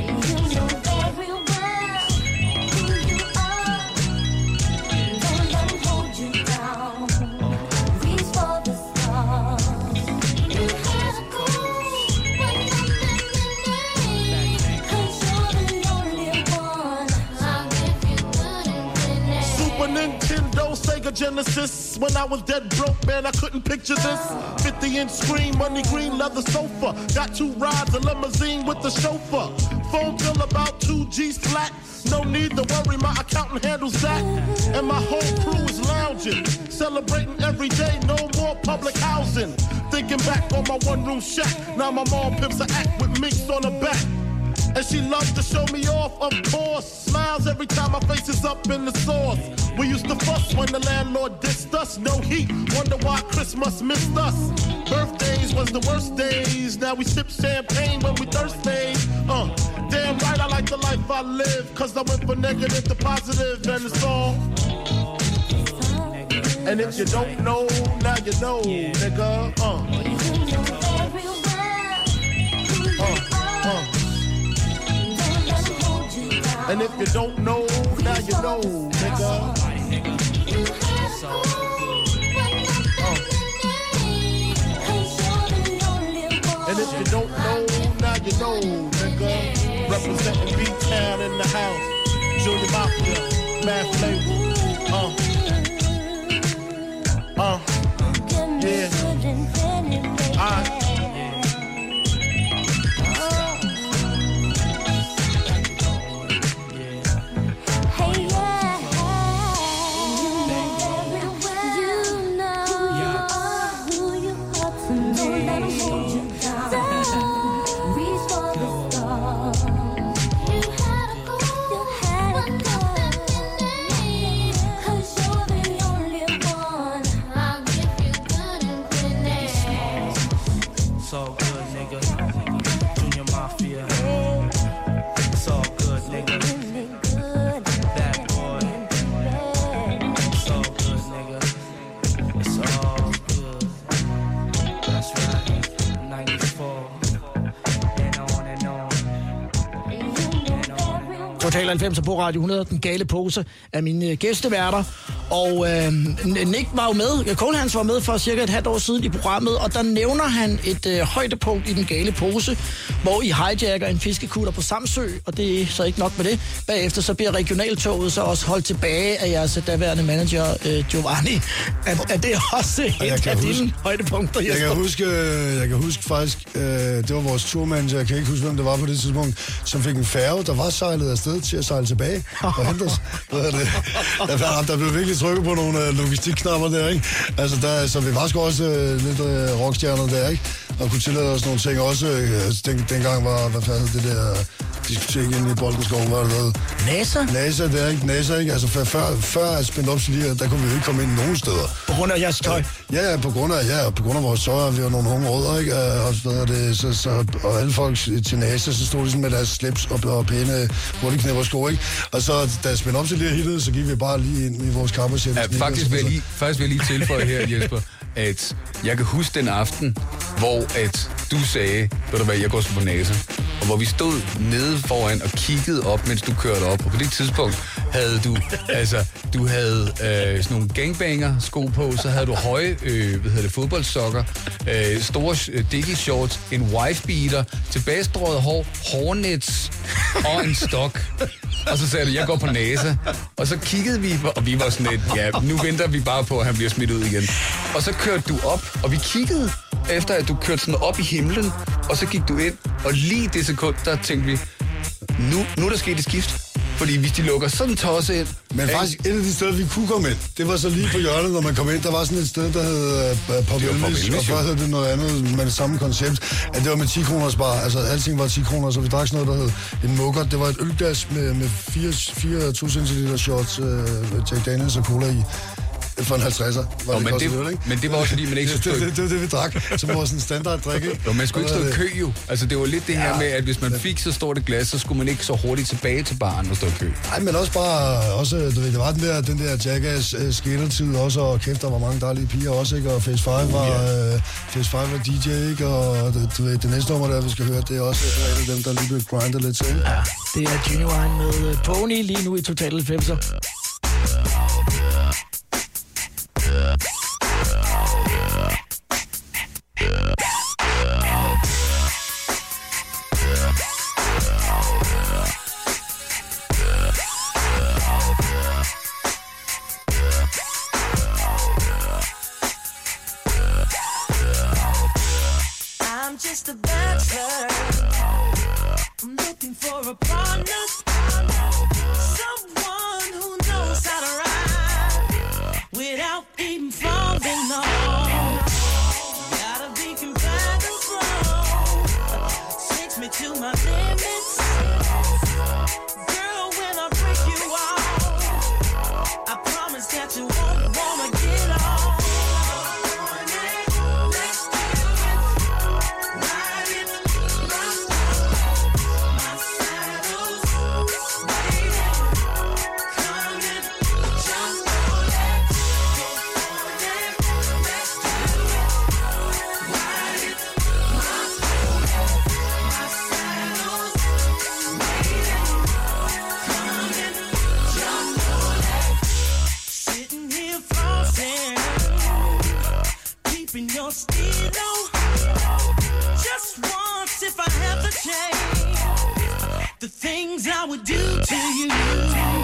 Nintendo, Sega Genesis. When I was dead broke, man, I couldn't picture this. fifty inch screen, money green leather sofa. Got two rides, a limousine with the chauffeur. Phone bill about two G's flat. No need to worry, my accountant handles that. And my whole crew is lounging, celebrating every day, no more public housing. Thinking back on my one room shack. Now my mom pimps an act with minks on her back. And she loves to show me off, of course. Smiles every time my face is up in the sauce. We used to fuss when the landlord dissed us. No heat, wonder why Christmas missed us. Birthdays was the worst days. Now we sip champagne when we thirsty. Uh, damn right I like the life I live. Cause I went from negative to positive and it's all. And if you don't know, now you know, nigga. Uh. Uh, uh. And if you don't know, now you know, nigga. Uh. And if you don't know, now you know, nigga. Representing B-Town in the house. Junior Mafia, Mad Flavor. Uh. Uh. Yeah. Alright. Total halvfems på Radio hundrede, den gale pose af mine gæsteværter. Og øh, Nick var jo med, Kohlhans var med for cirka et halvt år siden i programmet, og der nævner han et øh, højdepunkt i den gale pose, hvor I hijacker en fiskekutter på Samsø, og det er så ikke nok med det. Bagefter så bliver regionaltoget så også holdt tilbage af jeres daværende manager, øh, Giovanni. Er, er det også et af huske, dine højdepunkter, Jesper? Jeg kan huske, jeg kan huske faktisk, øh, det var vores turmanager, jeg kan ikke huske, hvem det var på det tidspunkt, som fik en færge, der var sejlet afsted til at sejle tilbage og hente os. Der, der blev virkelig trykket på nogle øh, logistikknapper der, ikke? Altså, der, så vi var sgu også øh, lidt øh, rockstjerner der, ikke? Og kunne tillade os nogle ting også. Øh, altså, den, dengang var, hvad fanden det der diskotek inde i Boldenskov, var det noget? NASA? NASA, det er ikke NASA, ikke? Altså, før, før, før at spænde op til lige, der kunne vi jo ikke komme ind nogen steder. På grund af jeres tøj? Ja, ja, på grund af, ja, på grund af vores tøj, vi var nogle unge rødder, ikke? Og, så, det, så, så, og alle folk til NASA, så stod de sådan med deres slips og, og pæne hurtigknæpper sko, ikke? Og så, da jeg spændte op til lige hittet, så gik vi bare lige ind i vores kappesæt. Ja, faktisk, vil jeg lige, faktisk vil jeg lige tilføje her, Jesper, at jeg kan huske den aften, hvor at du sagde, ved du hvad, jeg går på NASA, og hvor vi stod nede foran og kiggede op, mens du kørte op, og på det tidspunkt havde du, altså, du havde øh, sådan nogle gangbanger-sko på, så havde du høje, øh, hvad hedder det, fodboldsokker, øh, store øh, dickie shorts, en wife-beater, tilbagestrøget hår, hårnets og en stok. Og så sagde du, jeg går på NASA. Og så kiggede vi, og vi var sådan lidt, ja, nu venter vi bare på, at han bliver smidt ud igen. Og så kørte du op, og vi kiggede efter, at du kørte sådan op i himlen, og så gik du ind, og lige det sekund, der tænkte vi, nu, nu er der sket et skift. Fordi hvis de lukker sådan tosset ind... Men faktisk, et af de steder, vi kunne komme ind, det var så lige på hjørnet, når man kom ind. Der var sådan et sted, der hed uh, Pop Elvis, og før hed det noget andet med det samme koncept. At det var med ti kroners bar. Altså, alting var ti kroner, så vi drak sådan noget, der hed en mukker. Det var et ølglas med, med fire to centiliter shots, uh, Jack Daniels og cola i. For en halvtredser. Var oh, det men, det, lidt, ikke? men det var også fordi, man ikke så det, det, det, det, vi drak, som var sådan en standard drik, ikke? Jo, man skulle ikke stå i kø, jo. Altså, det var lidt det her ja. med, at hvis man fik så stort et glas, så skulle man ikke så hurtigt tilbage til baren og stå i kø. Nej, men også bare, også, du ved, det var den der, den der Jackass uh, skatertid også, og kæft, der var mange dejlige piger også, ikke? Og Phase fem var, uh, Phase fem var D J, ikke? Og det, du ved, det næste nummer, der vi skal høre, det er også et af dem, der lige blev grindet lidt til. Ja, det er Genuine med Pony lige nu i Total halvfemser. I'm just a bachelor. I'm looking for a partner, someone who knows how to ride without even falling off. Gotta be compatible, takes me to my limits. Girl, when I break you off, I promise that you won't wanna get off. Your stilo, just once if I have the chance, the things I would do to you.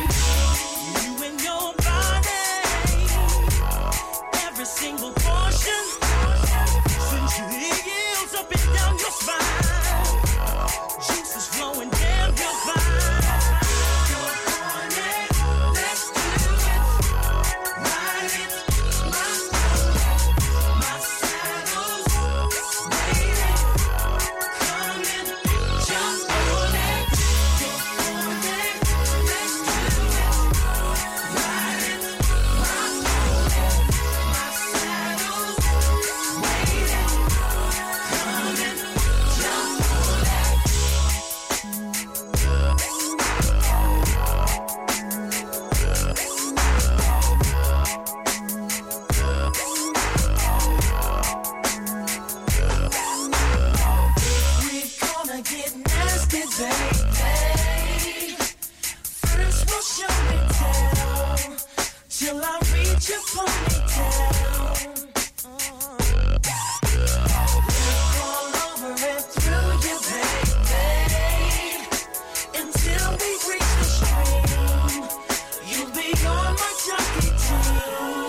baby. First we'll show me down till I reach your ponytail. Look all over and through you, baby, until we reach the stream. You'll be on my jockey team.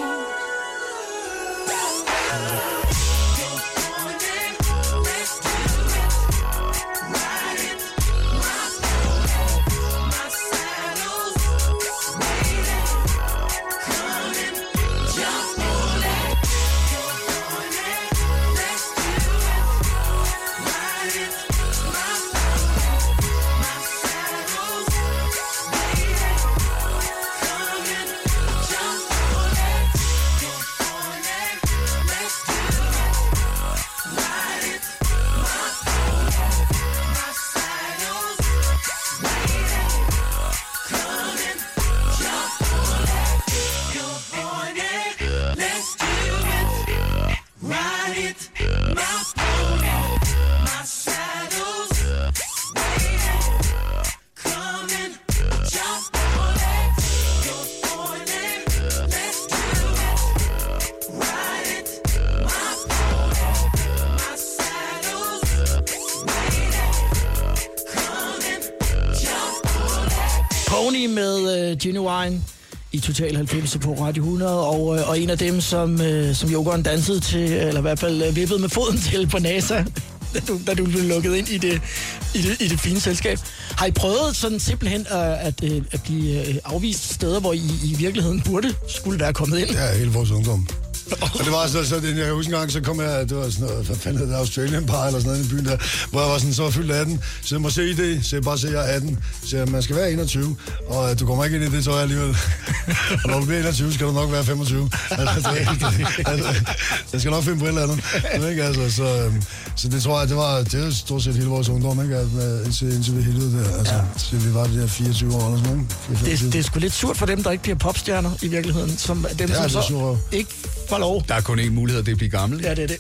Pony med uh, Genuine i Total halvfems på Radio hundrede, og, uh, og en af dem, som, uh, som Jokeren dansede til, eller i hvert fald uh, vippede med foden til på NASA, da du, da du blev lukket ind i det, i, det, i det fine selskab. Har I prøvet sådan simpelthen uh, at, uh, at blive uh, afvist steder, hvor I i virkeligheden burde skulle være kommet ind? Ja, hele vores ungdom. Og det var så, så det, jeg kan huske en gang, så kom jeg, det var sådan noget, hvad fanden hed det, Australian Bar eller sådan noget i byen der, hvor jeg var sådan, så var fyldt atten, så jeg må se i det, så jeg bare se, jeg er atten, så jeg, man skal være enogtyve, og du kommer ikke ind i det tøj alligevel. Og når du bliver enogtyve, skal du nok være femogtyve. Altså, altså, jeg skal nok finde på et eller andet. Ikke? Altså, så, så det tror jeg, det var, det var stort set hele vores ungdom, ikke? Indtil, indtil vi helvede der, altså, ja. Så vi var det der fireogtyve år eller sådan noget. Det, det er sgu lidt surt for dem, der ikke bliver popstjerner i virkeligheden, som dem, ja, som så ikke får lov. Der er kun én mulighed, det er at blive gammel. Ja, det er det.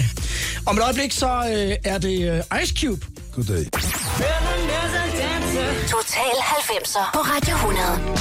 Om et øjeblik, så øh, er det øh, Ice Cube. Goddag. Total halvfemser på Radio hundrede.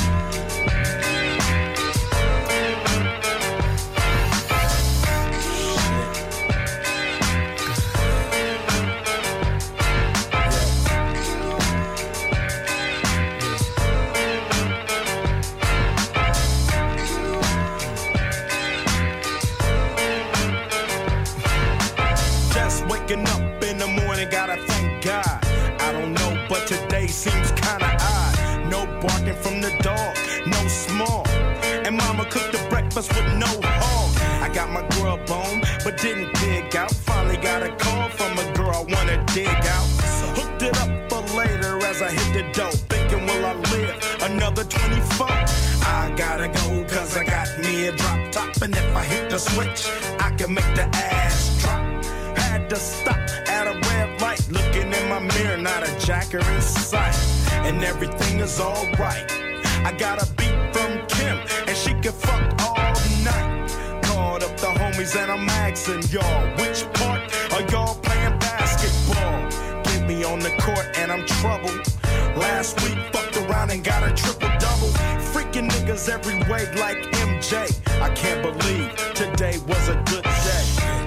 Up in the morning, gotta thank God. I don't know, but today seems kinda odd. No barking from the dog, no small. And mama cooked the breakfast with no hog. I got my grub on, but didn't dig out. Finally got a call from a girl I wanna dig out. Hooked it up for later as I hit the dough. Thinking, will I live another twenty-four? I gotta go, cause I got me a drop top. And if I hit the switch, I can make the ass drop. Had to stop at a red light, looking in my mirror, not a jacker in sight, and everything is alright. I got a beat from Kim, and she can fuck all night. Called up the homies and I'm asking y'all, which part are y'all playing basketball? Get me on the court and I'm troubled. Last week fucked around and got a triple double. Freaking niggas every way like M J. I can't believe today was a good day.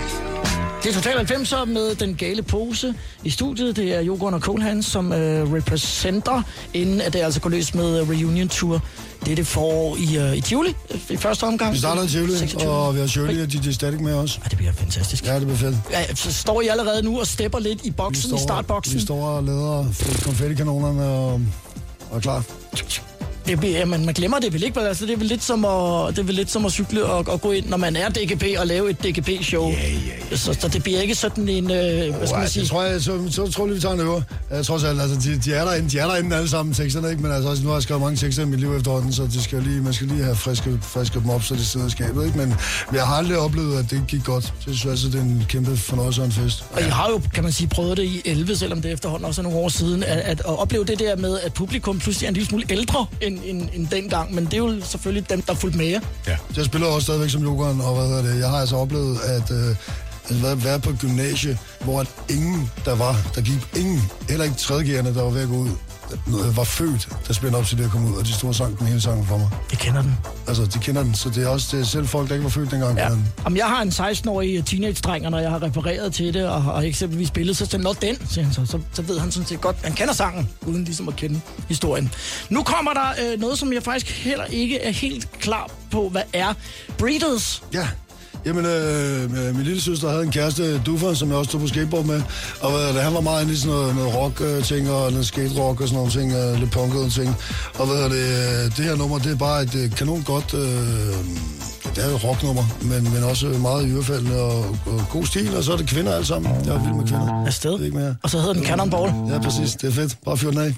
Det er Total halvfemser med den gale pose i studiet. Det er Jokeren og Colehan, som øh, repræsenter, inden at det altså går løs med uh, Reunion Tour. Det er det forår i, uh, i Tivoli, i første omgang. Vi starter i Tivoli, og vi har Shirley og D J Static med os. Ja, det bliver fantastisk. Ja, det bliver fedt. Ja, så står I allerede nu og stepper lidt i boksen, står, i startboksen? Vi står og leder konfettikanonerne og, og er klar. Det bliver, man, man glemmer det vel ikke, altså det er vel lidt som at, det er vel lidt som at cykle og, og gå ind, når man er D G P og lave et D G P-show. Ja, ja, ja. Så, så det bliver ikke sådan en, øh, hvad skal man sige? Det tror jeg, så, så tror jeg, vi tager en øver. Jeg tror selv, altså, de, de, er derinde, de er derinde alle sammen, teksterne, ikke? Men altså, nu har jeg skrevet mange tekster i mit liv efterhånden, så det skal lige, man skal lige have friske, friske dem op, så det sidder i skabet, ikke? Men jeg har aldrig oplevet, at det gik godt. Så jeg synes altså, det er en kæmpe fornøjelse og en fest. Og I har jo, kan man sige, prøvet det i elleve, selvom det efterhånden også er nogle år siden, at, at, at opleve det der med, at publikum pludselig er en lille smule ældre end, end, end dengang, men det er jo selvfølgelig dem, der er fuldt med jer. Ja. Jeg spiller også stadigvæk som Jokeren, og hvad hedder det, jeg har altså oplevet, at, øh, Altså været, været på et gymnasie, hvor ingen der var, der gik ingen, heller ikke tredjegærende, der var ved at gå ud, var født, der spændte op til det at komme ud, og de store sang den hele sangen for mig. De kender den. Altså, de kender den, så det er også det er selv folk, der ikke var født dengang. Ja. Jamen, jeg har en seksten-årig teenage-dreng, og når jeg har refereret til det, og har eksempelvis spillet, så siger den, siger han så, så, så ved han sådan set godt, han kender sangen, uden ligesom at kende historien. Nu kommer der øh, noget, som jeg faktisk heller ikke er helt klar på, hvad er. Breeders. Ja. Jamen, øh, min lille søster havde en kæreste, Duffer, som jeg også tog på skateboard med. Og hvad, han var meget inde i sådan noget, noget rock-ting og noget skate-rock og sådan nogle ting, øh, lidt punkede ting. Og hvad det, det her nummer, det er bare et kanon godt, øh, det er jo et rocknummer, men, men også meget ørefaldende og, og god stil. Og så er det kvinder alle sammen. Jeg er vild med kvinder. Afsted. Ikke mere. Og så hedder den Cannonball. Ja, præcis. Det er fedt. Bare fyr den af.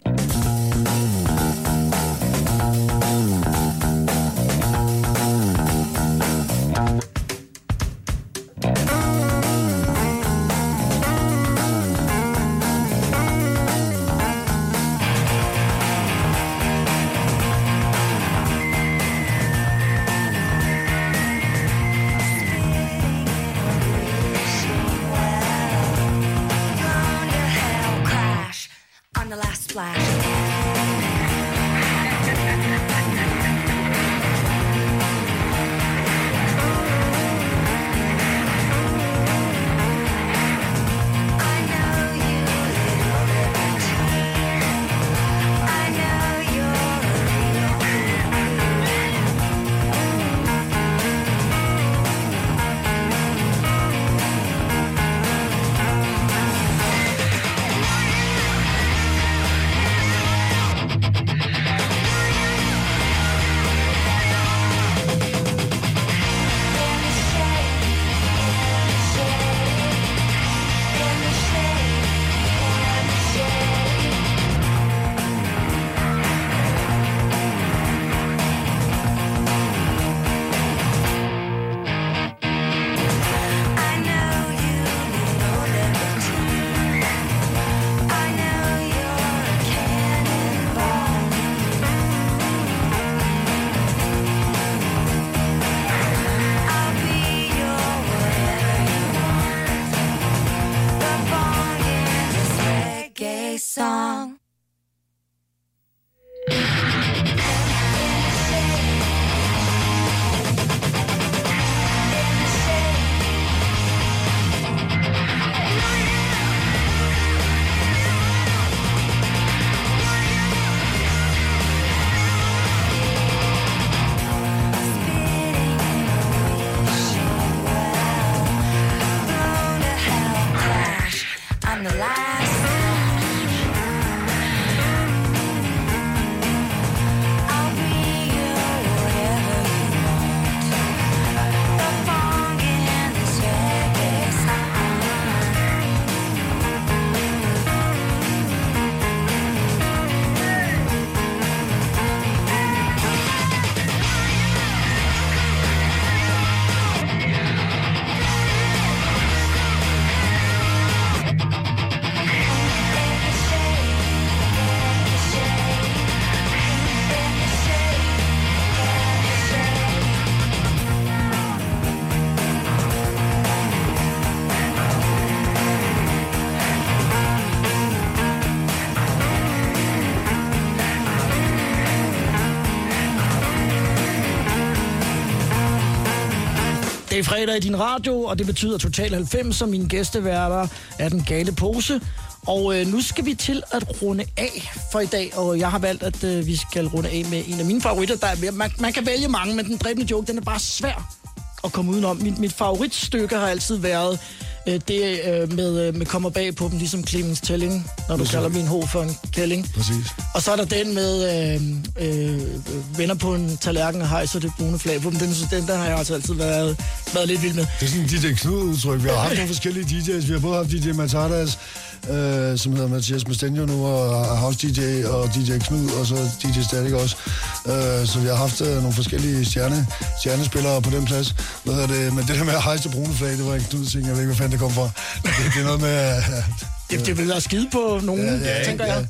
Det er fredag i din radio, og det betyder Total halvfems, som mine gæsteværter er den gale pose. Og øh, nu skal vi til at runde af for i dag, og jeg har valgt, at øh, vi skal runde af med en af mine favoritter. Der er, man, man kan vælge mange, men den dræbende joke, den er bare svær at komme udenom. Mit, mit favoritstykke har altid været øh, det øh, med, øh, med kommer bag på dem, ligesom Clemens Telling, når du kalder min ho for en kælling. Præcis. Og så er der den med øh, øh, venner på en tallerken og hejser det brune flag på dem. Den, den der har jeg altså altid været, været lidt vild med. Det er sådan D J Knud-udtryk. Vi har haft nogle forskellige D J's. Vi har både haft D J Matardas, øh, som hedder Mathias Mestenio nu, og House D J, og D J Knud, og så D J Static også. Øh, så vi har haft øh, nogle forskellige stjerne, stjernespillere på den plads. Hvad er det? Men det der med at hejse det brune flag, det var en Knud-ting. Jeg ved ikke, hvad fanden det kom fra. Det, det er noget med... Øh, det, det vil være skide på nogen, ja, ja, tænker ja. jeg.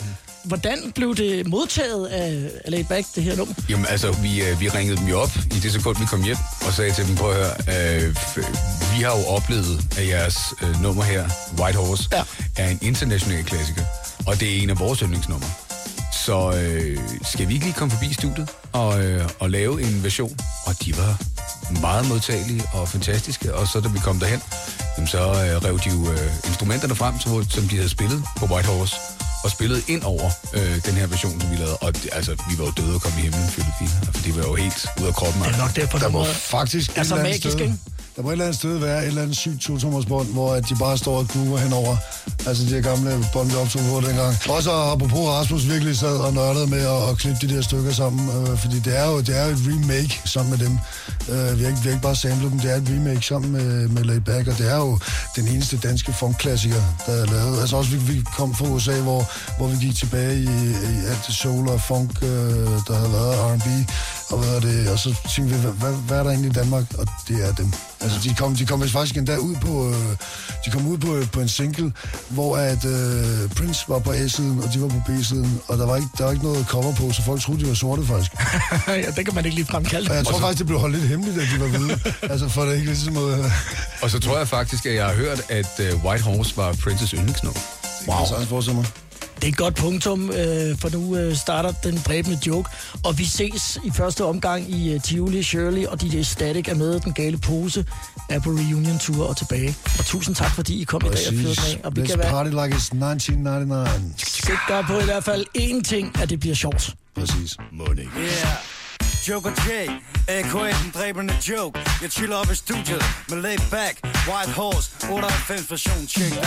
hvordan blev det modtaget af, af Laid Back, det her nummer? Jamen altså, vi, øh, vi ringede dem jo op i det sekund, vi kom hjem, og sagde til dem, prøv at høre, øh, vi har jo oplevet, at jeres øh, nummer her, White Horse, ja. er en international klassiker, og det er en af vores yndlingsnumre. Så øh, skal vi ikke lige komme forbi studiet og, øh, og lave en version? Og de var meget modtagelige og fantastiske, og så da vi kom derhen, jamen, så øh, rev de jo øh, instrumenterne frem, så, som de havde spillet på White Horse, og spillede ind over øh, den her version, som vi lavede. Og det, altså, vi var jo døde og kom i himlen, for det var jo helt ud af kroppen. Det er nok derfor, der der var må faktisk er så magisk, ikke? Der må et eller andet sted være et eller andet sygt to-tommersbånd, hvor de bare står og groover henover. Altså de her gamle bånd, vi optog på dengang. Også apropos Rasmus virkelig sad og nørdede med at, at klippe de der stykker sammen. Øh, fordi det er jo det er et remake sammen med dem. Øh, vi, har ikke, vi har ikke bare samlet dem, det er et remake sammen med, med Laid Back. Og det er jo den eneste danske funkklassiker, der er lavet. Altså også vi, vi kom fra U S A, hvor, hvor vi gik tilbage i, i alt det soul og funk, øh, der havde været R and B. Og, hvad er det, og så tænkte vi, hvad, hvad, hvad er der egentlig i Danmark? Og det er dem. Altså, de kom, de kom faktisk endda ud på, øh, de kom ud på, på en single, hvor at øh, Prince var på A-siden, og de var på B-siden, og der var ikke, der var ikke noget cover på, så folk troede, de var sorte, faktisk. Ja, det kan man ikke lige fremkalde. Og jeg tror faktisk, det blev holdt lidt hemmeligt, at de var hvide. Altså, for det ikke ligesom noget... Og så tror jeg faktisk, at jeg har hørt, at uh, White Horse var Princes yndlingsnummer. Wow. Det er så mig. Det er et godt punktum, øh, for nu øh, starter den dræbende joke. Og vi ses i første omgang i uh, Tivoli, Shirley og D J Static er med. Den gale pose er på reunion tour og tilbage. Og tusind tak, fordi I kom Præcis. i dag og fyrede med. Og vi Let's kan være party like it's nineteen ninety-nine. sikker på i hvert fald én ting, at det bliver sjovt. Præcis. Money. Yeah. Joker J, A K A den dræbende joke. Jeg chiller op i studiet med Laid Back, White Horse, otteoghalvfems version, check det.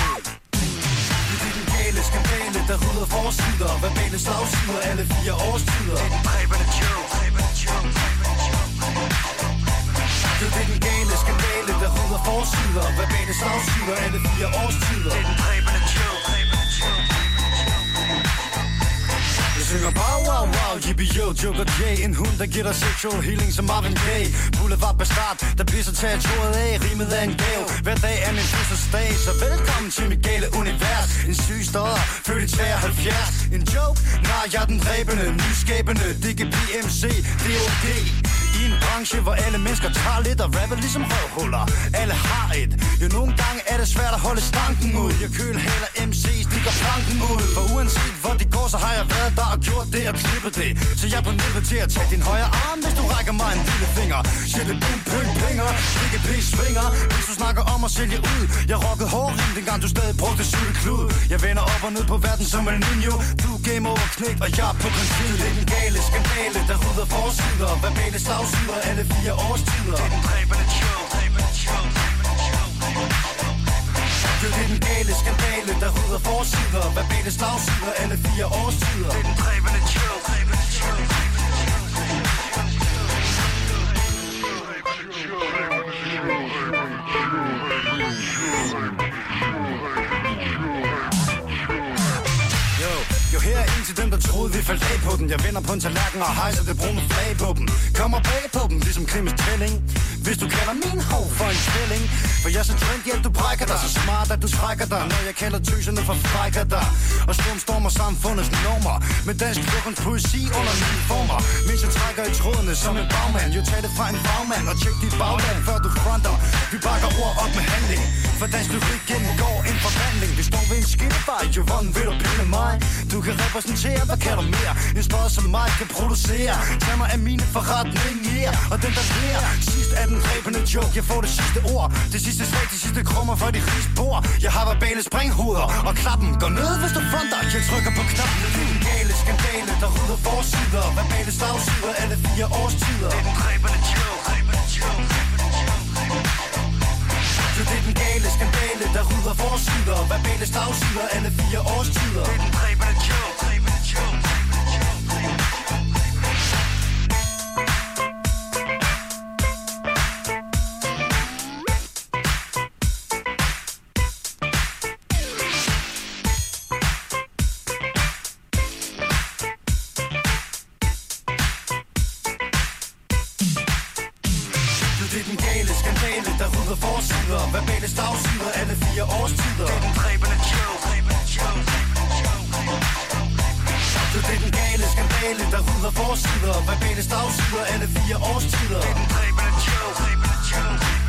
Skandale, der rydder forsider, verbale slagsider, alle fire årstider. Det er den dræbende joke. Det er den gale skandale, der rydder forsider, verbale slagsider, alle fire årstider. Det er den dræbende joke. Jeg synger wow, wow, wow, yippie yo, Joker J. En hund, der giver dig sexual healing som Marvin Gaye. Boulevard Bastard, der pisser territoriet af. Rimet af en gave, hver dag er min fødselsdag. Så velkommen til mit gale univers. En syg stodder, født i treoghalvfjerds. En joke? Nej, jeg er den dræbende, nyskabende. D G P M C, D O G. I en branche, hvor alle mennesker tager lidt og rapper ligesom røvhuller. Alle har et. Jo, nogle gange er det svært at holde stanken ud. Jeg kølhaler M C's, stikker planken ud. For uanset hvor de går, så har jeg været der og gjort det og klippet det. Så jeg er på nippet til at tage din højre arm, hvis du rækker mig en lille finger. Shit, boom, pøng, pinger, D G P svinger. Hvis du snakker om at sælge ud. Jeg rockede hårrim, dengang du stadig brugte cykelklud. Jeg vender op og ned på verden som El Niño. Du er game over knæk, og jeg er på konfid. Det er den gale skandale, der rydder forsider. Verbale slagsider, alle fire årstider. Det er den dræbende joke. Det er den gale skandale, der rydder forsider. Verbale slagsider, alle fire årstider. Det er den dræbende joke. Jo, her er en til dem, der troede, vi faldt af på den. Jeg vender på en tallerken og hejser det brune flag på dem. Kommer bag på dem, ligesom Krims tvilling. Hvis du kalder min hov for en tvilling. For jeg er så trendy, at du brækker dig. Så smart, at du trækker dig. Når jeg kalder tøserne for frækker dig. Og stormstormer samfundets normer. Med dansk lukkens poesi under mine former. Mens jeg trækker i trådene som en bagmand. Jo, tag det fra en bagmand og tjek dit bagland, før du fronter. Vi bakker ord op med handling. For dansk lyrik gennemgår en forvandling. Vi står ved en skillevej, jo, hvordan vil du pille mig? Du kan repræsentere, hvad kan du mere? En stod som mig kan producere. Tag mig af mine forretninger, yeah. Og den der lærer. Sidst er den dræbende joke, jeg får det sidste ord. Det sidste slag, de sidste krummer for de rigs bord. Jeg har verbale springhoveder, og klappen går ned, hvis du fronter. Jeg trykker på knappen, det er den gale skandale, der rydder forsider. Verbale slagsider, alle fire årstider. Det er den dræbende joke. Det er den gale skandale, der rydder forsider. Verbale slagsider, alle fire årstider. Det er den dræbende joke. Verbale slagsider, alle fire årstider. Det er den dræbende joke. Materiale, der rydder forsider. Verbale stavsider, alle fire årstider. Det er den dræbende show.